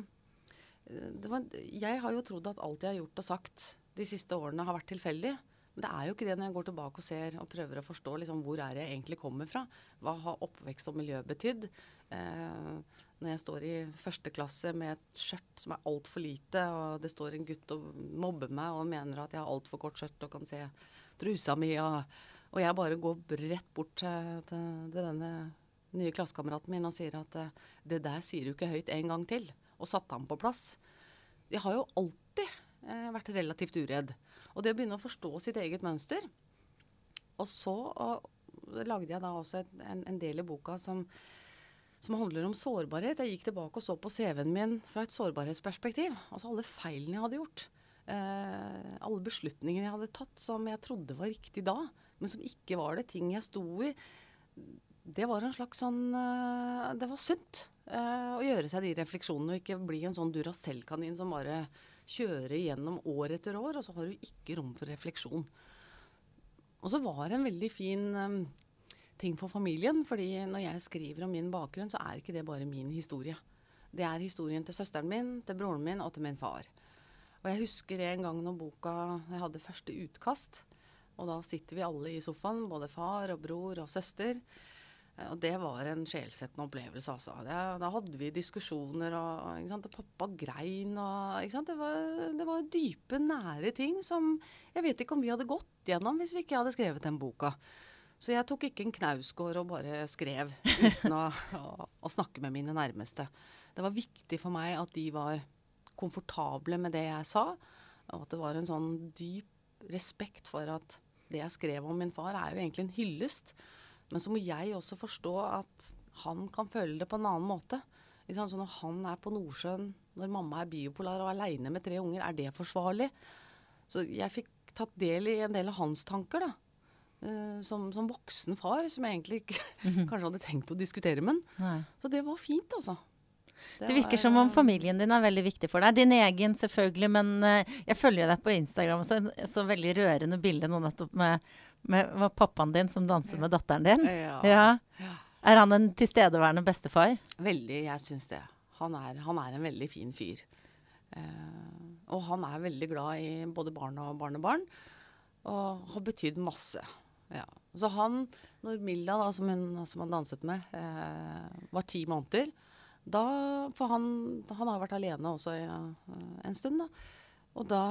Det var, jeg har jo trodd at alt jeg har gjort og sagt de siste årene har vært tilfeldig. Men det er jo ikke det når jeg går tilbake og ser og prøver å forstå liksom, hvor er jeg egentlig kommer fra. Hva har oppvekst og miljø betydd? Eh, når jeg står i første klasse med et skjørt som er alt for lite, og det står en gutt og mobber meg og mener at jeg har alt for kort skjørt og kan se trusa mi, og, og jeg bare går rett bort til, til, til denne nye klassekameraten min og sier at det der sier du ikke høyt en gang til, og satte ham på plass. Jeg har jo alltid eh, vært relativt uredd. Og det å begynne å forstå sitt eget mønster. Og så og, lagde jeg da også et, en, en del i boka som, som handler om sårbarhet. Jeg gikk tilbake og så på C V-en min fra et sårbarhetsperspektiv. Altså alle feilene jeg hadde gjort. Eh, alle beslutningene jeg hadde tatt som jeg trodde var riktig da, men som ikke var det. Ting jeg sto i. Det var en slags sånn... Eh, det var sunt eh, å gjøre seg de refleksjonene og ikke bli en sånn Duracell-kanin som bare... kjøre igjennom år etter år, og så har du ikke rom for refleksjon. Og så var det en veldig fin um, ting for familien, fordi når jeg skriver om min bakgrunn, så er ikke det bare min historie. Det er historien til søsteren min, til broren min og til min far. Og jeg husker en gang når boka, jeg hadde første utkast, og da sitter vi alle i sofaen, både far og bror og søster, og det var en sjelsettende opplevelse, altså. Det, da hadde vi diskusjoner, og, ikke sant, og pappa grein, og, ikke sant, det var, det var dype, nære ting som jeg vet ikke om vi hadde gått gjennom hvis vi ikke hadde skrevet den boka. Så jeg tok ikke en knausgård og bare skrev uten å, å, å snakke med mine nærmeste. Det var viktig for meg at de var komfortable med det jeg sa, og at det var en sånn dyp respekt for at det jeg skrev om min far er jo egentlig en hyllest. Men så må jeg også forstå at han kan føle det på en annen måte. Så når han er på Nordsjøen når mamma er biopolar og alene med tre unger, er det forsvarlig? Så jeg fikk tatt del i en del av hans tanker da. Uh, som, som voksen far, som jeg egentlig ikke mm-hmm. kanskje hadde tenkt å diskutere med. Nei. Så det var fint, altså. Det, det virker var, som om familien din er veldig viktig for deg. Din egen selvfølgelig, men uh, jeg følger deg på Instagram, så, så veldig rørende bilde nå nettopp med, med, med pappaen din som danser med datteren din. Ja. Ja. Ja. Er han en tilstedeværende bestefar? Veldig, jeg synes det. Han er, han er en veldig fin fyr. Uh, og han er veldig glad i både barn og barnebarn, og har betydd masse. Ja. Så han, når Milla, da, som, hun, som han danset med, uh, var ti måneder, da, for han, han har vært alene også i uh, en stund da. Og da,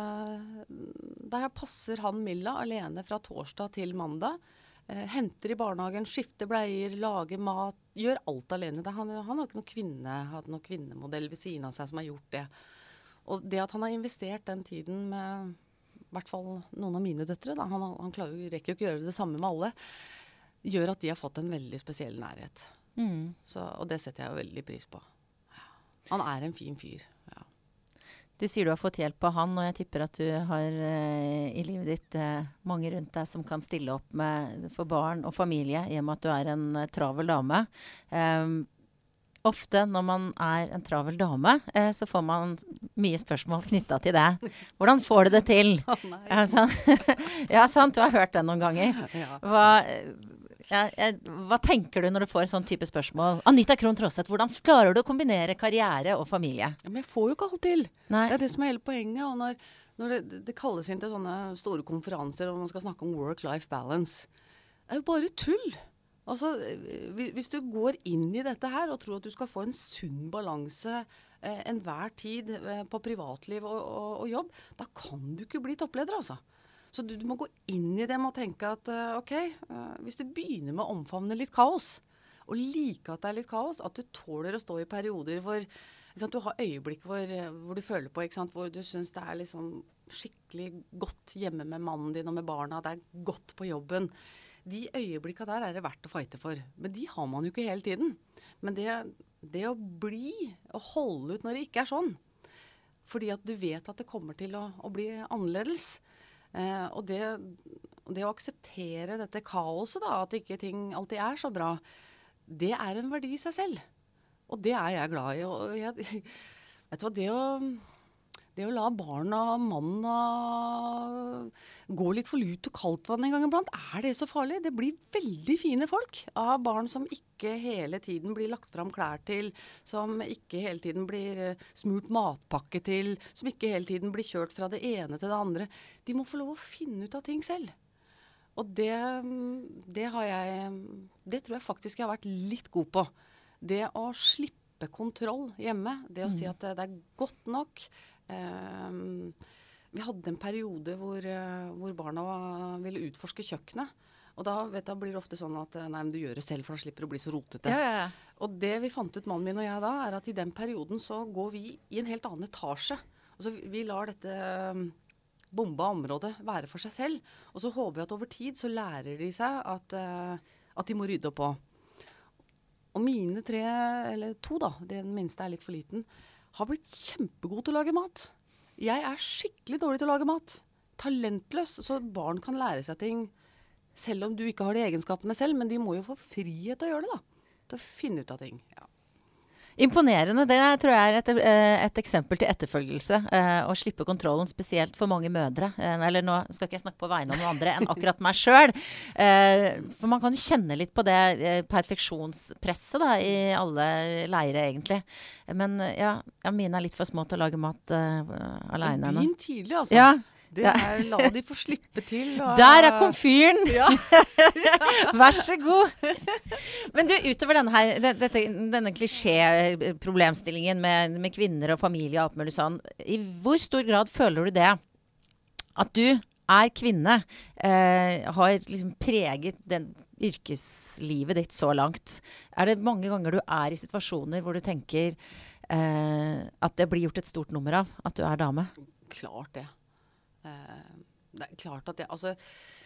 der passer han Milla alene fra torsdag til mandag. Uh, henter i barnehagen, skifter bleier, lager mat, gjør alt alene. Det, han, han har ikke noen kvinne, hatt noen kvinnemodell ved siden av seg som har gjort det. Og det at han har investert den tiden med i hvert fall noen av mine døtre, da, han, han klarer, rekker jo ikke å gjøre det samme med alle, gjør at de har fått en veldig spesiell nærhet. Mm. Så, og det setter jeg jo veldig pris på. Han er en fin fyr, ja. Du sier du har fått hjelp av han, og jeg tipper at du har uh, i livet ditt uh, mange rundt deg som kan stille opp med, for barn og familie, i og med at du er en uh, travel dame. Um, ofte når man er en travel dame, uh, så får man mye spørsmål knyttet til det. Hvordan får du det til? Oh, nei. Ja, sant? Ja, sant, du har hørt det noen ganger. Ja. Hva... Ja, jeg, hva tenker du når du får sånn type spørsmål? Anita Krohn Traaseth, hvordan klarer du å kombinere karriere og familie? Ja, men jeg får jo ikke alt til. Nei. Det er det som er hele poenget. Og når, når det, det kalles inn til sånne store konferanser og man skal snakke om work-life balance, det er jo bare tull. Altså, hvis du går inn i dette her og tror at du skal få en sunn balanse eh, enhver tid eh, på privatliv og, og, og jobb, da kan du ikke bli toppleder, altså. Så du, du må gå inn i det med å tenke at uh, ok, uh, hvis du begynner med å omfavne litt kaos, og like at det er litt kaos, at du tåler å stå i perioder hvor du har øyeblikk hvor, hvor du føler på, ikke sant, hvor du synes det er liksom skikkelig godt hjemme med mannen din og med barna, det er godt på jobben. De øyeblikkene der er det verdt å fighte for, men de har man jo ikke hele tiden. Men det, det å bli, å holde ut når det ikke er sånn, fordi at du vet at det kommer til å, å bli annerledes. Eh, og det, det å akseptere dette kaoset da, at ikke ting alltid er så bra, det er en verdi i seg selv. Og det er jeg glad i. Og jeg, vet du hva, det å, det å la barna og mannen gå litt for lut og kaldt vann en gang iblant, er det så farlig? Det blir veldig fine folk av barn som ikke hele tiden blir lagt fram klær til, som ikke hele tiden blir smurt matpakke til, som ikke hele tiden blir kjørt fra det ene til det andre. De må få lov å finne ut av ting selv. Og det, det har jeg, det tror jeg faktisk jeg har vært litt god på. Det å slippe kontroll hjemme, det å mm. si at det, det er godt nok. Um, vi hadde en periode hvor, uh, hvor barna ville utforske kjøkkenet. Og da, vet du, blir det ofte sånn at nei, men du gjør det selv, for da slipper det å bli så rotete. Ja, ja, ja. Og det vi fant ut, mannen min og jeg da, er at i den perioden så går vi i en helt annen etasje. Altså vi lar dette um, bomba området være for seg selv. Og så håper vi at over tid så lærer de seg at, uh, at de må rydde opp på. Og mine tre, eller to da, den minste er litt for liten, har blitt kjempegod til å lage mat. Jeg er skikkelig dårlig til å lage mat. Talentløs, så barn kan lære seg ting, selv om du ikke har de egenskapene selv, men de må jo få frihet til å gjøre det da. Til å finne ut av ting, ja. Imponerende, det tror jeg er et, et eksempel til etterfølgelse. Eh, å slippe kontrollen, spesielt for mange mødre. Eh, eller nå skal ikke jeg snakke på vegne av noen andre enn akkurat meg selv. Eh, for man kan jo kjenne litt på det eh, perfeksjonspresset da, i alle leire egentlig. Men ja, ja, mine er litt for små til å lage mat eh, alene. Begynn tidlig, altså. Ja. Det er, la de få slippe til. Og... Der er komfyren! Ja. Vær så god! Men du, utover denne, her, dette, denne klisjé-problemstillingen med, med kvinner og familie og alt mulig sånn, i hvor stor grad føler du det at du er kvinne, eh, har liksom preget den yrkeslivet ditt så langt? Er det mange ganger du er i situasjoner hvor du tenker eh, at det blir gjort et stort nummer av at du er dame? Klart det. Uh, det er klart at jeg, altså,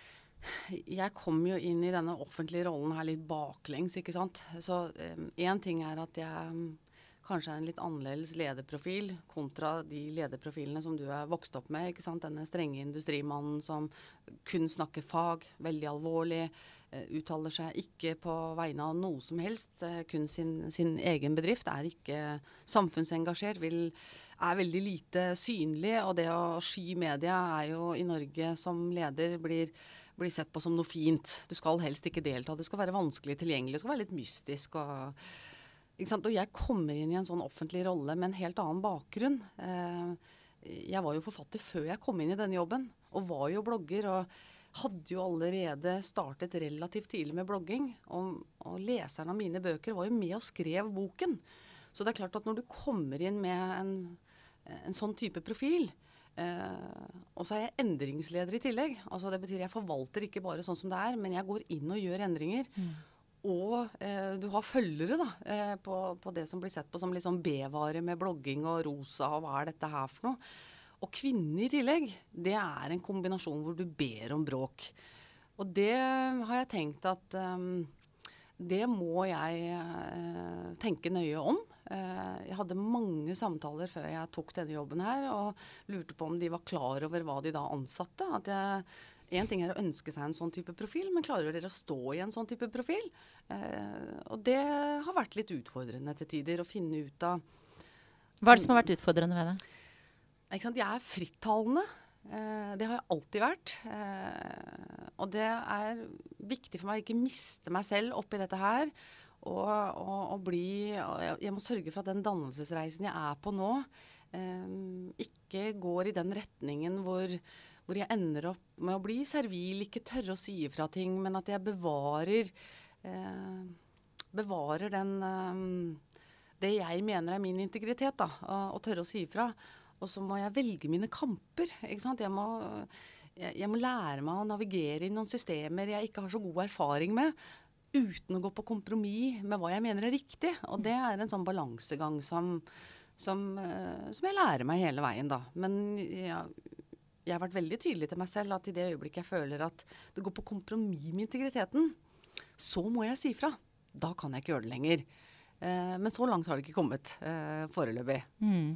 jeg kom jo inn i denne offentlige rollen her litt baklengs, ikke sant? Så um, en ting er at jeg um, kanskje er en litt annerledes lederprofil kontra de lederprofilene som du er vokst opp med, ikke sant? Denne strenge industrimannen som kun snakker fag, veldig alvorlig, uh, uttaler seg ikke på vegne av noe som helst, uh, kun sin, sin egen bedrift, er ikke samfunnsengasjert, vil, er veldig lite synlig, og det å sky media er jo i Norge som leder blir blir sett på som noe fint. Du skal helst ikke delta. Det skal være vanskelig tilgjengelig. Det skal være litt mystisk. Og, ikke sant? Og jeg kommer inn i en sånn offentlig rolle med en helt annen bakgrunn. Eh, jeg var jo forfatter før jeg kom inn i denne jobben, og var jo blogger, og hadde jo allerede startet relativt tidlig med blogging. Og, og leseren av mine bøker var jo med og skrev boken. Så det er klart at når du kommer inn med en, en sånn type profil, Uh, og så er jeg endringsleder i tillegg. Altså det betyr jeg forvalter ikke bare sånn som det er, men jeg går inn og gjør endringer. Mm. Og uh, du har følgere da, uh, på, på det som blir sett på som litt sånn B-vare med blogging og rosa, og hva er dette her for noe? Og kvinne i tillegg, det er en kombinasjon hvor du ber om bråk. Og det har jeg tenkt at um, det må jeg uh, tenke nøye om. Uh, jeg hadde mange samtaler før jeg tok denne jobben her, og lurte på om de var klar over hva de da ansatte. At jeg, en ting er å ønske seg en sånn type profil, men klarer dere å stå i en sånn type profil? Uh, og det har vært litt utfordrende til tider å finne ut av. Hva er det som har vært utfordrende ved det? Ikke sant? Jeg er frittalende. Uh, det har jeg alltid vært. Uh, og det er viktig for meg å ikke miste meg selv oppi dette her. Og, og, og bli, og jeg, jeg må sørge for at den dannelsesreisen jeg er på nå, eh, ikke går i den retningen hvor, hvor jeg ender opp med å bli servil, ikke tørre å si ifra ting, men at jeg bevarer, eh, bevarer den, eh, det jeg mener er min integritet, da, og, og tørre å si ifra. Og så må jeg velge mine kamper, ikke sant? Jeg må, jeg, jeg må lære meg å navigere i noen systemer jeg ikke har så god erfaring med, uten å gå på kompromiss med hva jeg mener er riktig. Og det er en sånn balansegang som, som, uh, som jeg lærer meg hele veien da. Men ja, jeg har vært veldig tydelig til meg selv at i det øyeblikket jeg føler at det går på kompromiss med integriteten, så må jeg si fra. Da kan jeg ikke gjøre det lenger. Uh, men så langt har det ikke kommet uh, foreløpig. Mm.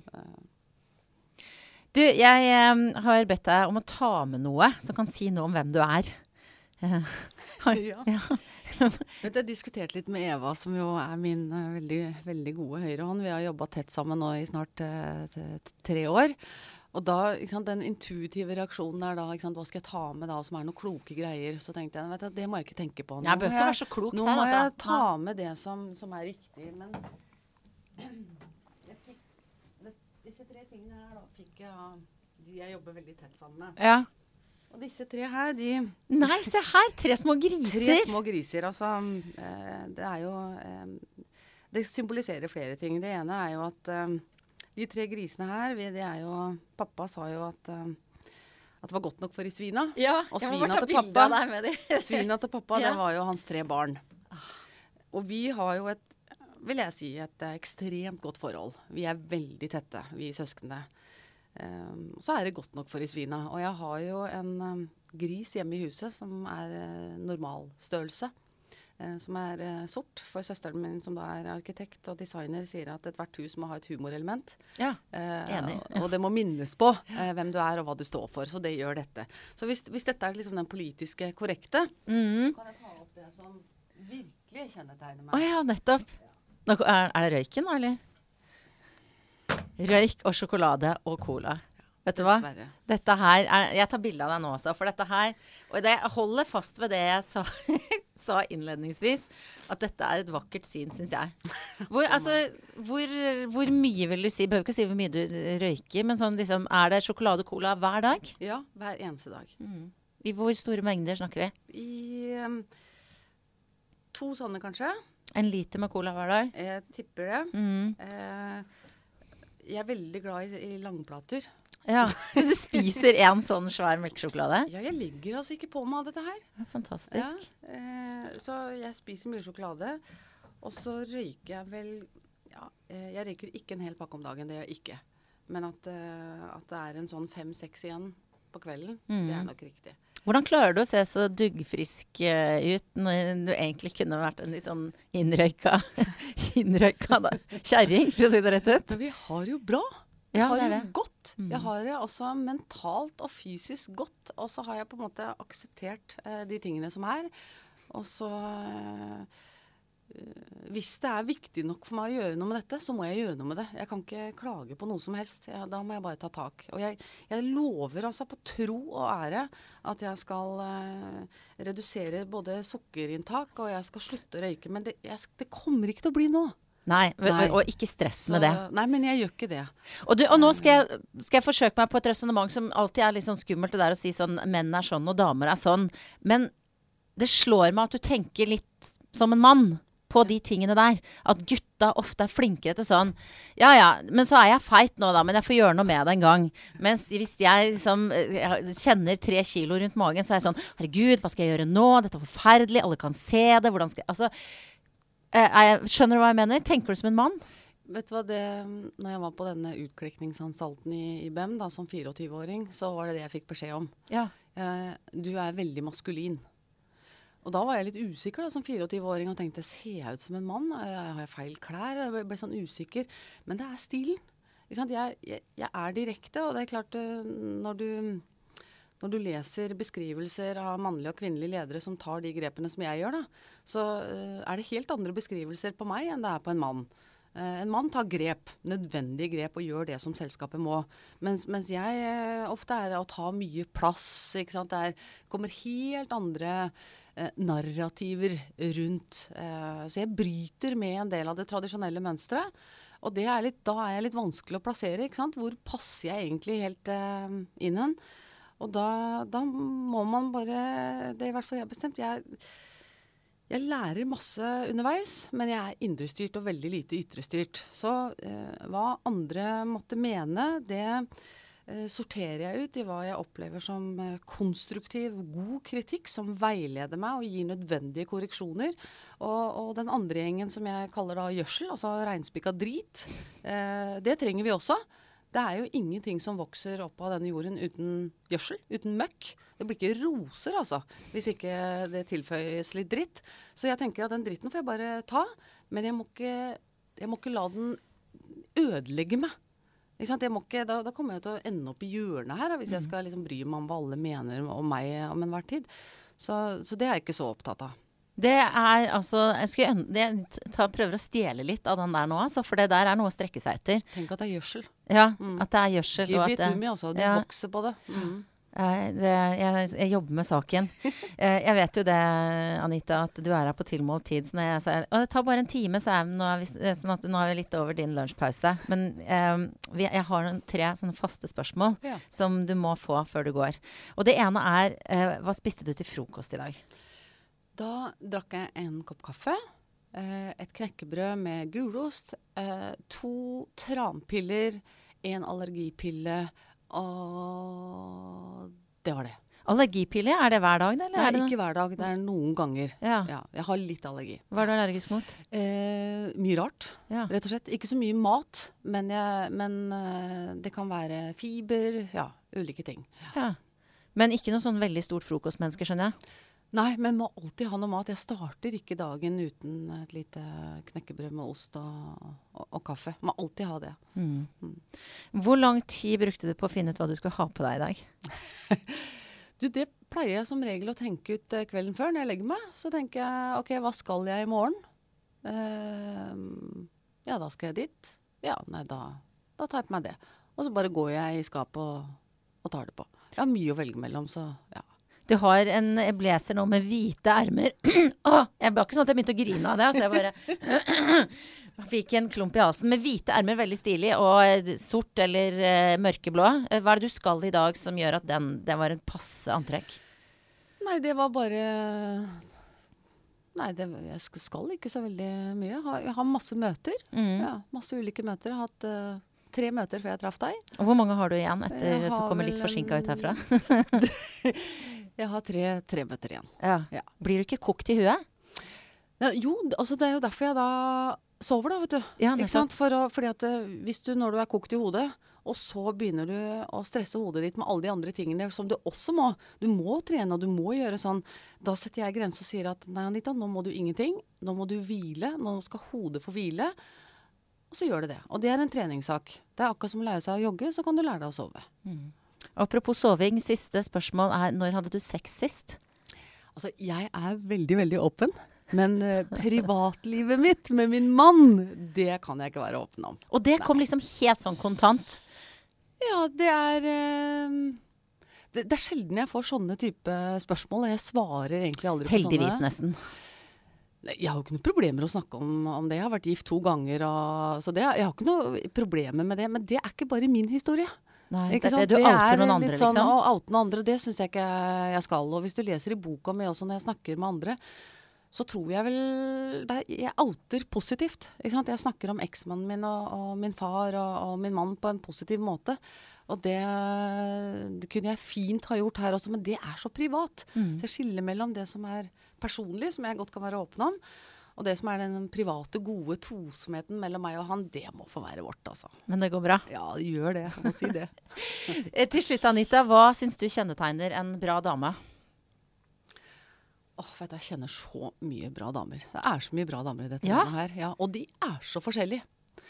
Uh. Du, jeg um, har bedt deg om å ta med noe som kan si noe om hvem du er. Uh, har, ja. ja. Jeg har diskutert litt med Eva, som jo er min uh, veldig, veldig gode høyrehånd. Vi har jobbet tett sammen nå i snart uh, tre år. Og da, ikke sant, den intuitive reaksjonen er da, ikke sant, hva skal jeg ta med da, som er noen kloke greier? Så tenkte jeg, vet du, det må jeg ikke tenke på. Nå jeg bør ikke være så klok nå der, må altså. jeg ta med det som, som er riktig. Men jeg fikk, det, disse tre tingene her da, fikk jeg av de jeg jobber veldig tett sammen med. Ja. Og disse tre her, de... Nei, se her! Tre små griser! Tre små griser, altså. Eh, det er jo... Eh, det symboliserer flere ting. Det ene er jo at eh, de tre grisene her, vi, det er jo... Pappa sa jo at, eh, at det var godt nok for i svina. Ja, og jeg svina må bare ta til bilde pappa, av deg med de. svina til pappa, Ja. det var jo hans tre barn. Og vi har jo et, vil jeg si, et eh, ekstremt godt forhold. Vi er veldig tette, vi søskene. Um, så er det godt nok for i svina. Og jeg har jo en um, gris hjemme i huset som er uh, normalstørrelse. Uh, som er uh, sort. For søsteren min som da er arkitekt og designer sier at ethvert hus må ha et humorelement. Ja, uh, enig. Og, og det må minnes på uh, hvem du er og hva du står for. Så det gjør dette. Så hvis, hvis dette er liksom den politiske korrekte, mm. så kan jeg ta opp det som virkelig kjennetegner meg. Å ja, nettopp. Nå, er, er det røyken da, eller? Røyk og sjokolade og cola. Vet du hva? Dessverre. Dette her er, jeg tar bilde av deg nå også, for dette her, og det holder fast ved det jeg sa, sa innledningsvis, at dette er et vakkert syn, synes jeg. Hvor, altså, hvor, hvor mye vil du si, behøver ikke si hvor mye du røyker, men sånn liksom, er det sjokolade og cola hver dag? Ja, hver eneste dag. Mm. I hvor store mengder snakker vi? I um, to sånne kanskje. En liter med cola hver dag? Jeg tipper det. Mm. Eh, jeg er veldig glad i, i langplater. Ja, så du spiser en sånn svær melkesjokolade? Ja, jeg ligger altså ikke på meg av dette her. Fantastisk. Ja, eh, så jeg spiser mye sjokolade, og så røyker jeg vel, ja, eh, jeg røyker ikke en hel pakke om dagen, det gjør jeg ikke. Men at, eh, at det er en sånn fem-seks igjen på kvelden. Mm. Det er nok riktig. Hvordan klarer du å se så duggfrisk uh, ut når du egentlig kunne vært en litt sånn innrøyka, innrøyka da, kjerring, for å si det rett ut? Men vi har jo bra. Ja, jeg har det er jo det. godt. Mm. Jeg har det også mentalt og fysisk godt. Og så har jeg på en måte akseptert eh, de tingene som er. Og så eh, hvis det er viktig nok for meg å gjøre noe med dette, så må jeg gjøre noe med det. Jeg kan ikke klage på noe som helst. Jeg, da må jeg bare ta tak. Og jeg, jeg lover altså på tro og ære at jeg skal eh, redusere både sukkerinntak, og jeg skal slutte å røyke. Men det, jeg, det kommer ikke til å bli nå. Nei, Nei. og ikke stress Så, med det. Nei, men jeg gjør ikke det. Og, du, og nå skal jeg, skal jeg forsøke meg på et resonemang som alltid er litt sånn skummelt, det der å si sånn, menn er sånn og damer er sånn. Men det slår meg at du tenker litt som en mann på de tingene der. At gutta ofte er flinkere til sånn, ja ja, men så er jeg feit nå da, men jeg får gjøre noe med det en gang. Mens hvis jeg liksom jeg kjenner tre kilo rundt magen, så er jeg sånn, herregud, hva skal jeg gjøre nå? Dette er forferdelig, alle kan se det, hvordan skal jeg, altså... Jeg, skjønner du hva jeg mener? Tenker du som en mann? Vet du hva, det, når jeg var på denne utklikningsanstalten i, i B E M da, som fireogtyve-åring, så var det det jeg fikk beskjed om. Ja. Eh, du er veldig maskulin. Og da var jeg litt usikker da, som fireogtyve-åring, og tenkte, ser jeg ut som en mann? Har jeg feil klær? Jeg ble, ble sånn usikker. Men det er stilen. Ikke sant? Jeg, jeg, jeg er direkte, og det er klart, når du... Når du leser beskrivelser av mannlige og kvinnelige ledere som tar de grepene som jeg gjør, da, så uh, er det helt andre beskrivelser på meg enn det er på en mann. Uh, en mann tar grep, nødvendige grep, og gjør det som selskapet må. Mens, mens jeg uh, ofte er å ta mye plass, ikke sant? Det er, kommer helt andre uh, narrativer rundt. Uh, så jeg bryter med en del av det tradisjonelle mønstret. Og det er litt, da er jeg litt vanskelig å plassere, ikke sant? Hvor passer jeg egentlig helt uh, inn hen? Og da, da må man bare, det er i hvert fall jeg har bestemt, jeg, jeg lærer masse underveis, men jeg er indrestyrt og veldig lite ytrestyrt. Så eh, hva andre måtte mene, det eh, sorterer jeg ut i hva jeg opplever som eh, konstruktiv, god kritikk, som veileder meg og gir nødvendige korreksjoner. Og, og den andre gjengen som jeg kaller da gjødsel, altså regnspikka drit, eh, det trenger vi også. Det er jo ingenting som vokser opp av denne jorden uten gjødsel, uten møkk. Det blir ikke roser, altså, hvis ikke det tilføyes litt dritt. Så jeg tenker at den dritten får jeg bare ta, men jeg må ikke, jeg må ikke la den ødelegge meg. Ikke sant? Jeg må ikke, da, da kommer jeg til å ende opp i hjørnet her, hvis jeg skal liksom bry meg om hva alle mener om meg om enhver tid. Så, så det er jeg ikke så opptatt av. Det er altså, jeg, skal, jeg tar, prøver å stjele litt av den der nå, altså, for det der er noe å strekke seg etter. Tenk at det er gjødsel. Ja, mm. at det er gjødsel. Give og it to me, altså. Du ja. vokser på det. Mm. Jeg, det jeg, jeg jobber med saken. Jeg vet jo det, Anita, at du er her på tilmålt tid. Så jeg sier, og det tar bare en time, så er, nå, er vi, sånn at, nå er vi litt over din lunsjpause. Men eh, vi, jeg har noen, tre sånne faste spørsmål ja. som du må få før du går. Og det ene er, eh, hva spiste du til frokost i dag? Da drakk jeg en kopp kaffe, eh, et knekkebrød med gulost, eh, to tranpiller, en allergipille, og det var det. Allergipille, er det hver dag? Eller? Nei, er det ikke hver dag, det er noen ganger. Ja. Ja, jeg har litt allergi. Hva er du allergisk mot? Eh, mye rart, ja. rett og slett. Ikke så mye mat, men, jeg, men eh, det kan være fiber, ja, ulike ting. Ja. Men ikke noe sånn veldig stort frokostmenneske, skjønner jeg? Nei, men må alltid ha noe mat. Jeg starter ikke dagen uten et lite knekkebrød med ost og, og, og kaffe. Må alltid ha det. Mm. Mm. Hvor lang tid brukte du på å finne ut hva du skulle ha på deg i dag? du, det pleier jeg som regel å tenke ut uh, kvelden før når jeg legger meg. Så tenker jeg, ok, hva skal jeg i morgen? Uh, ja, da skal jeg dit. Ja, nei, da, da tar jeg på meg det. Og så bare går jeg i skapet og, og tar det på. Jeg har mye å velge mellom, så ja. Du har en blazer nå med hvite ermer. Åh, jeg ble ikke sånn at jeg begynte å grine av det. Så jeg bare fikk en klump i halsen. Med hvite ermer, veldig stilig, og sort eller uh, mørkeblå. Hva er det du skal i dag som gjør at den, den var en passe antrekk? Nei, det var bare... Nei, det, jeg skal ikke så veldig mye. Jeg har, jeg har masse møter. Mm. Ja, masse ulike møter. Jeg har hatt... Uh, Tre møter før jeg traff deg. Og hvor mange har du igjen etter at du kommer litt forsinket ut herfra? jeg har tre, tre møter igjen. Ja. Ja. Blir du ikke kokt i huet? Ja, jo, altså det er jo derfor jeg da sover da, vet du. Ja, ikke sant? For å, fordi at hvis du, når du er kokt i hodet, Og så begynner du å stresse hodet ditt med alle de andre tingene som du også må. Du må trene, og du må gjøre sånn. Da setter jeg grenser og sier at nei, Anita, nå må du ingenting. Nå må du hvile. Nå skal hodet få hvile. Og så gjør det det. Og det er en treningssak. Det er akkurat som å lære seg å jogge, så kan du lære deg å sove. Mm. Apropos soving, siste spørsmål er, når hadde du sex sist? Altså, jeg er veldig, veldig åpen. Men uh, privatlivet mitt med min mann, det kan jeg ikke være åpen om. Og det kom Nei. liksom helt sånn kontant? Ja, det er uh, det, det er sjelden jeg får sånne type spørsmål, og jeg svarer egentlig aldri på Heldigvis sånne. nesten. Jeg har jo ikke noen problemer å snakke om, om det. Jeg har vært gift to ganger, og, så det, jeg har ikke noe problemer med det. Men det er ikke bare min historie. Nei, ikke det, sant? du det outer noen andre, sånn, liksom. Og outer noen andre, det synes jeg ikke jeg skal. Og hvis du leser i boka mi også når jeg snakker med andre, så tror jeg vel det, jeg outer positivt. Ikke sant? Jeg snakker om eksmannen min og, og min far og, og min mann på en positiv måte. Og det, det kunne jeg fint ha gjort her også, men det er så privat. Mm. Så jeg skiller mellom det som er personlig, som jeg godt kan være åpen om, og det som er den private, gode tosomheten mellom meg og han, det må få være vårt, altså. Men det går bra? Ja, det gjør det. Jeg må si det. Til slutt, Anita, hva synes du kjennetegner en bra dame? Åh, vet du, jeg kjenner så mye bra damer. Det er så mye bra damer i dette ja? landet her. Ja, og de er så forskjellige.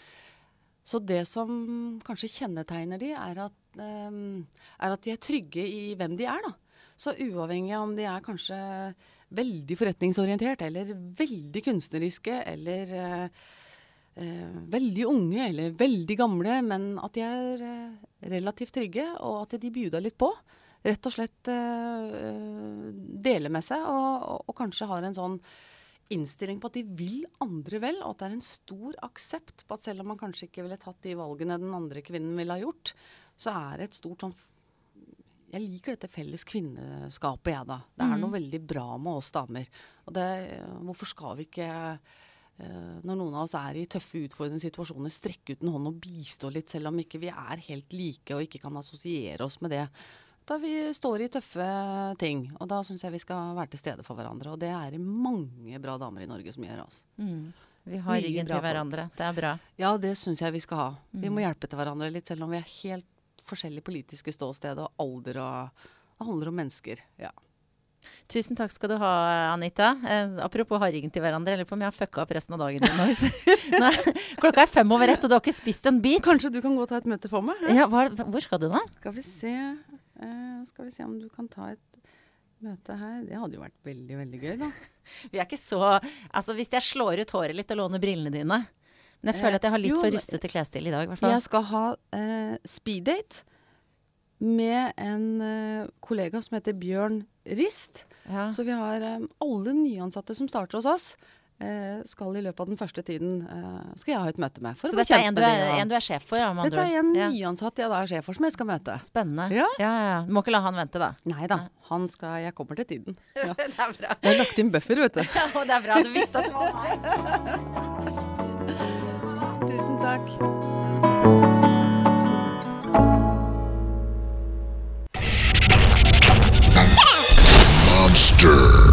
Så det som kanskje kjennetegner de, er at, um, er at de er trygge i hvem de er, da. Så uavhengig om de er kanskje veldig forretningsorientert, eller veldig kunstneriske, eller uh, uh, veldig unge, eller veldig gamle, men at de er uh, relativt trygge, og at de bjuder litt på. Rett og slett uh, dele med seg, og, og, og kanskje har en sånn innstilling på at de vil andre vel, og at det er en stor aksept på at selv om man kanskje ikke ville tatt de valgene den andre kvinnen ville ha gjort, så er det et stort sånn, jeg liker dette felles kvinneskapet jeg da. Det er noe mm. veldig bra med oss damer. Og det, hvorfor skal vi ikke, uh, når noen av oss er i tøffe, utfordrende situasjoner, strekke ut en hånd og bistå litt, selv om ikke vi er helt like og ikke kan assosiere oss med det. Da vi står i tøffe ting, og da synes jeg vi skal være til stede for hverandre, og det er mange bra damer i Norge som gjør oss. Mm. Vi har Mye ryggen til hverandre, folk. Det er bra. Ja, det synes jeg vi skal ha. Mm. Vi må hjelpe til hverandre litt, selv om vi er helt forskjellige politiske ståsted og alder, og det handler om mennesker, ja. Tusen takk skal du ha, Anita. Eh, apropos ha ryggen til hverandre, eller på om jeg har fucka opp resten av dagen din. Nei, klokka er fem over ett, og du har ikke spist en bit. Kanskje du kan gå og ta et møte for meg? Ja? Ja, hva, hvor skal du da? Skal vi se... Uh, skal vi se om du kan ta et møte her. Det hadde jo vært veldig, veldig gøy da. Vi er ikke så... Altså, hvis jeg slår ut håret litt og låner brillene dine. Men jeg føler at jeg har litt jo, for rufsete klesstil i dag, i hvert fall. Jeg skal ha uh, speeddate med en uh, kollega som heter Bjørn Rist. Ja. Så vi har um, alle nyansatte som starter hos oss, uh, skal i løpet av den første tiden, uh, skal jeg ha et møte med. For så å dette er en du er, en du er sjef for? Dette andre. er en ja. nyansatt jeg da er sjef for, som jeg skal møte. Spennende. Ja. Ja, ja. Du må ikke la han vente da. Nei da, han skal, jeg kommer til tiden. Ja. Det er bra. Jeg har lagt inn buffer, vet du. Ja, det er bra, du visste at det var meg. Tusen takk. Monster.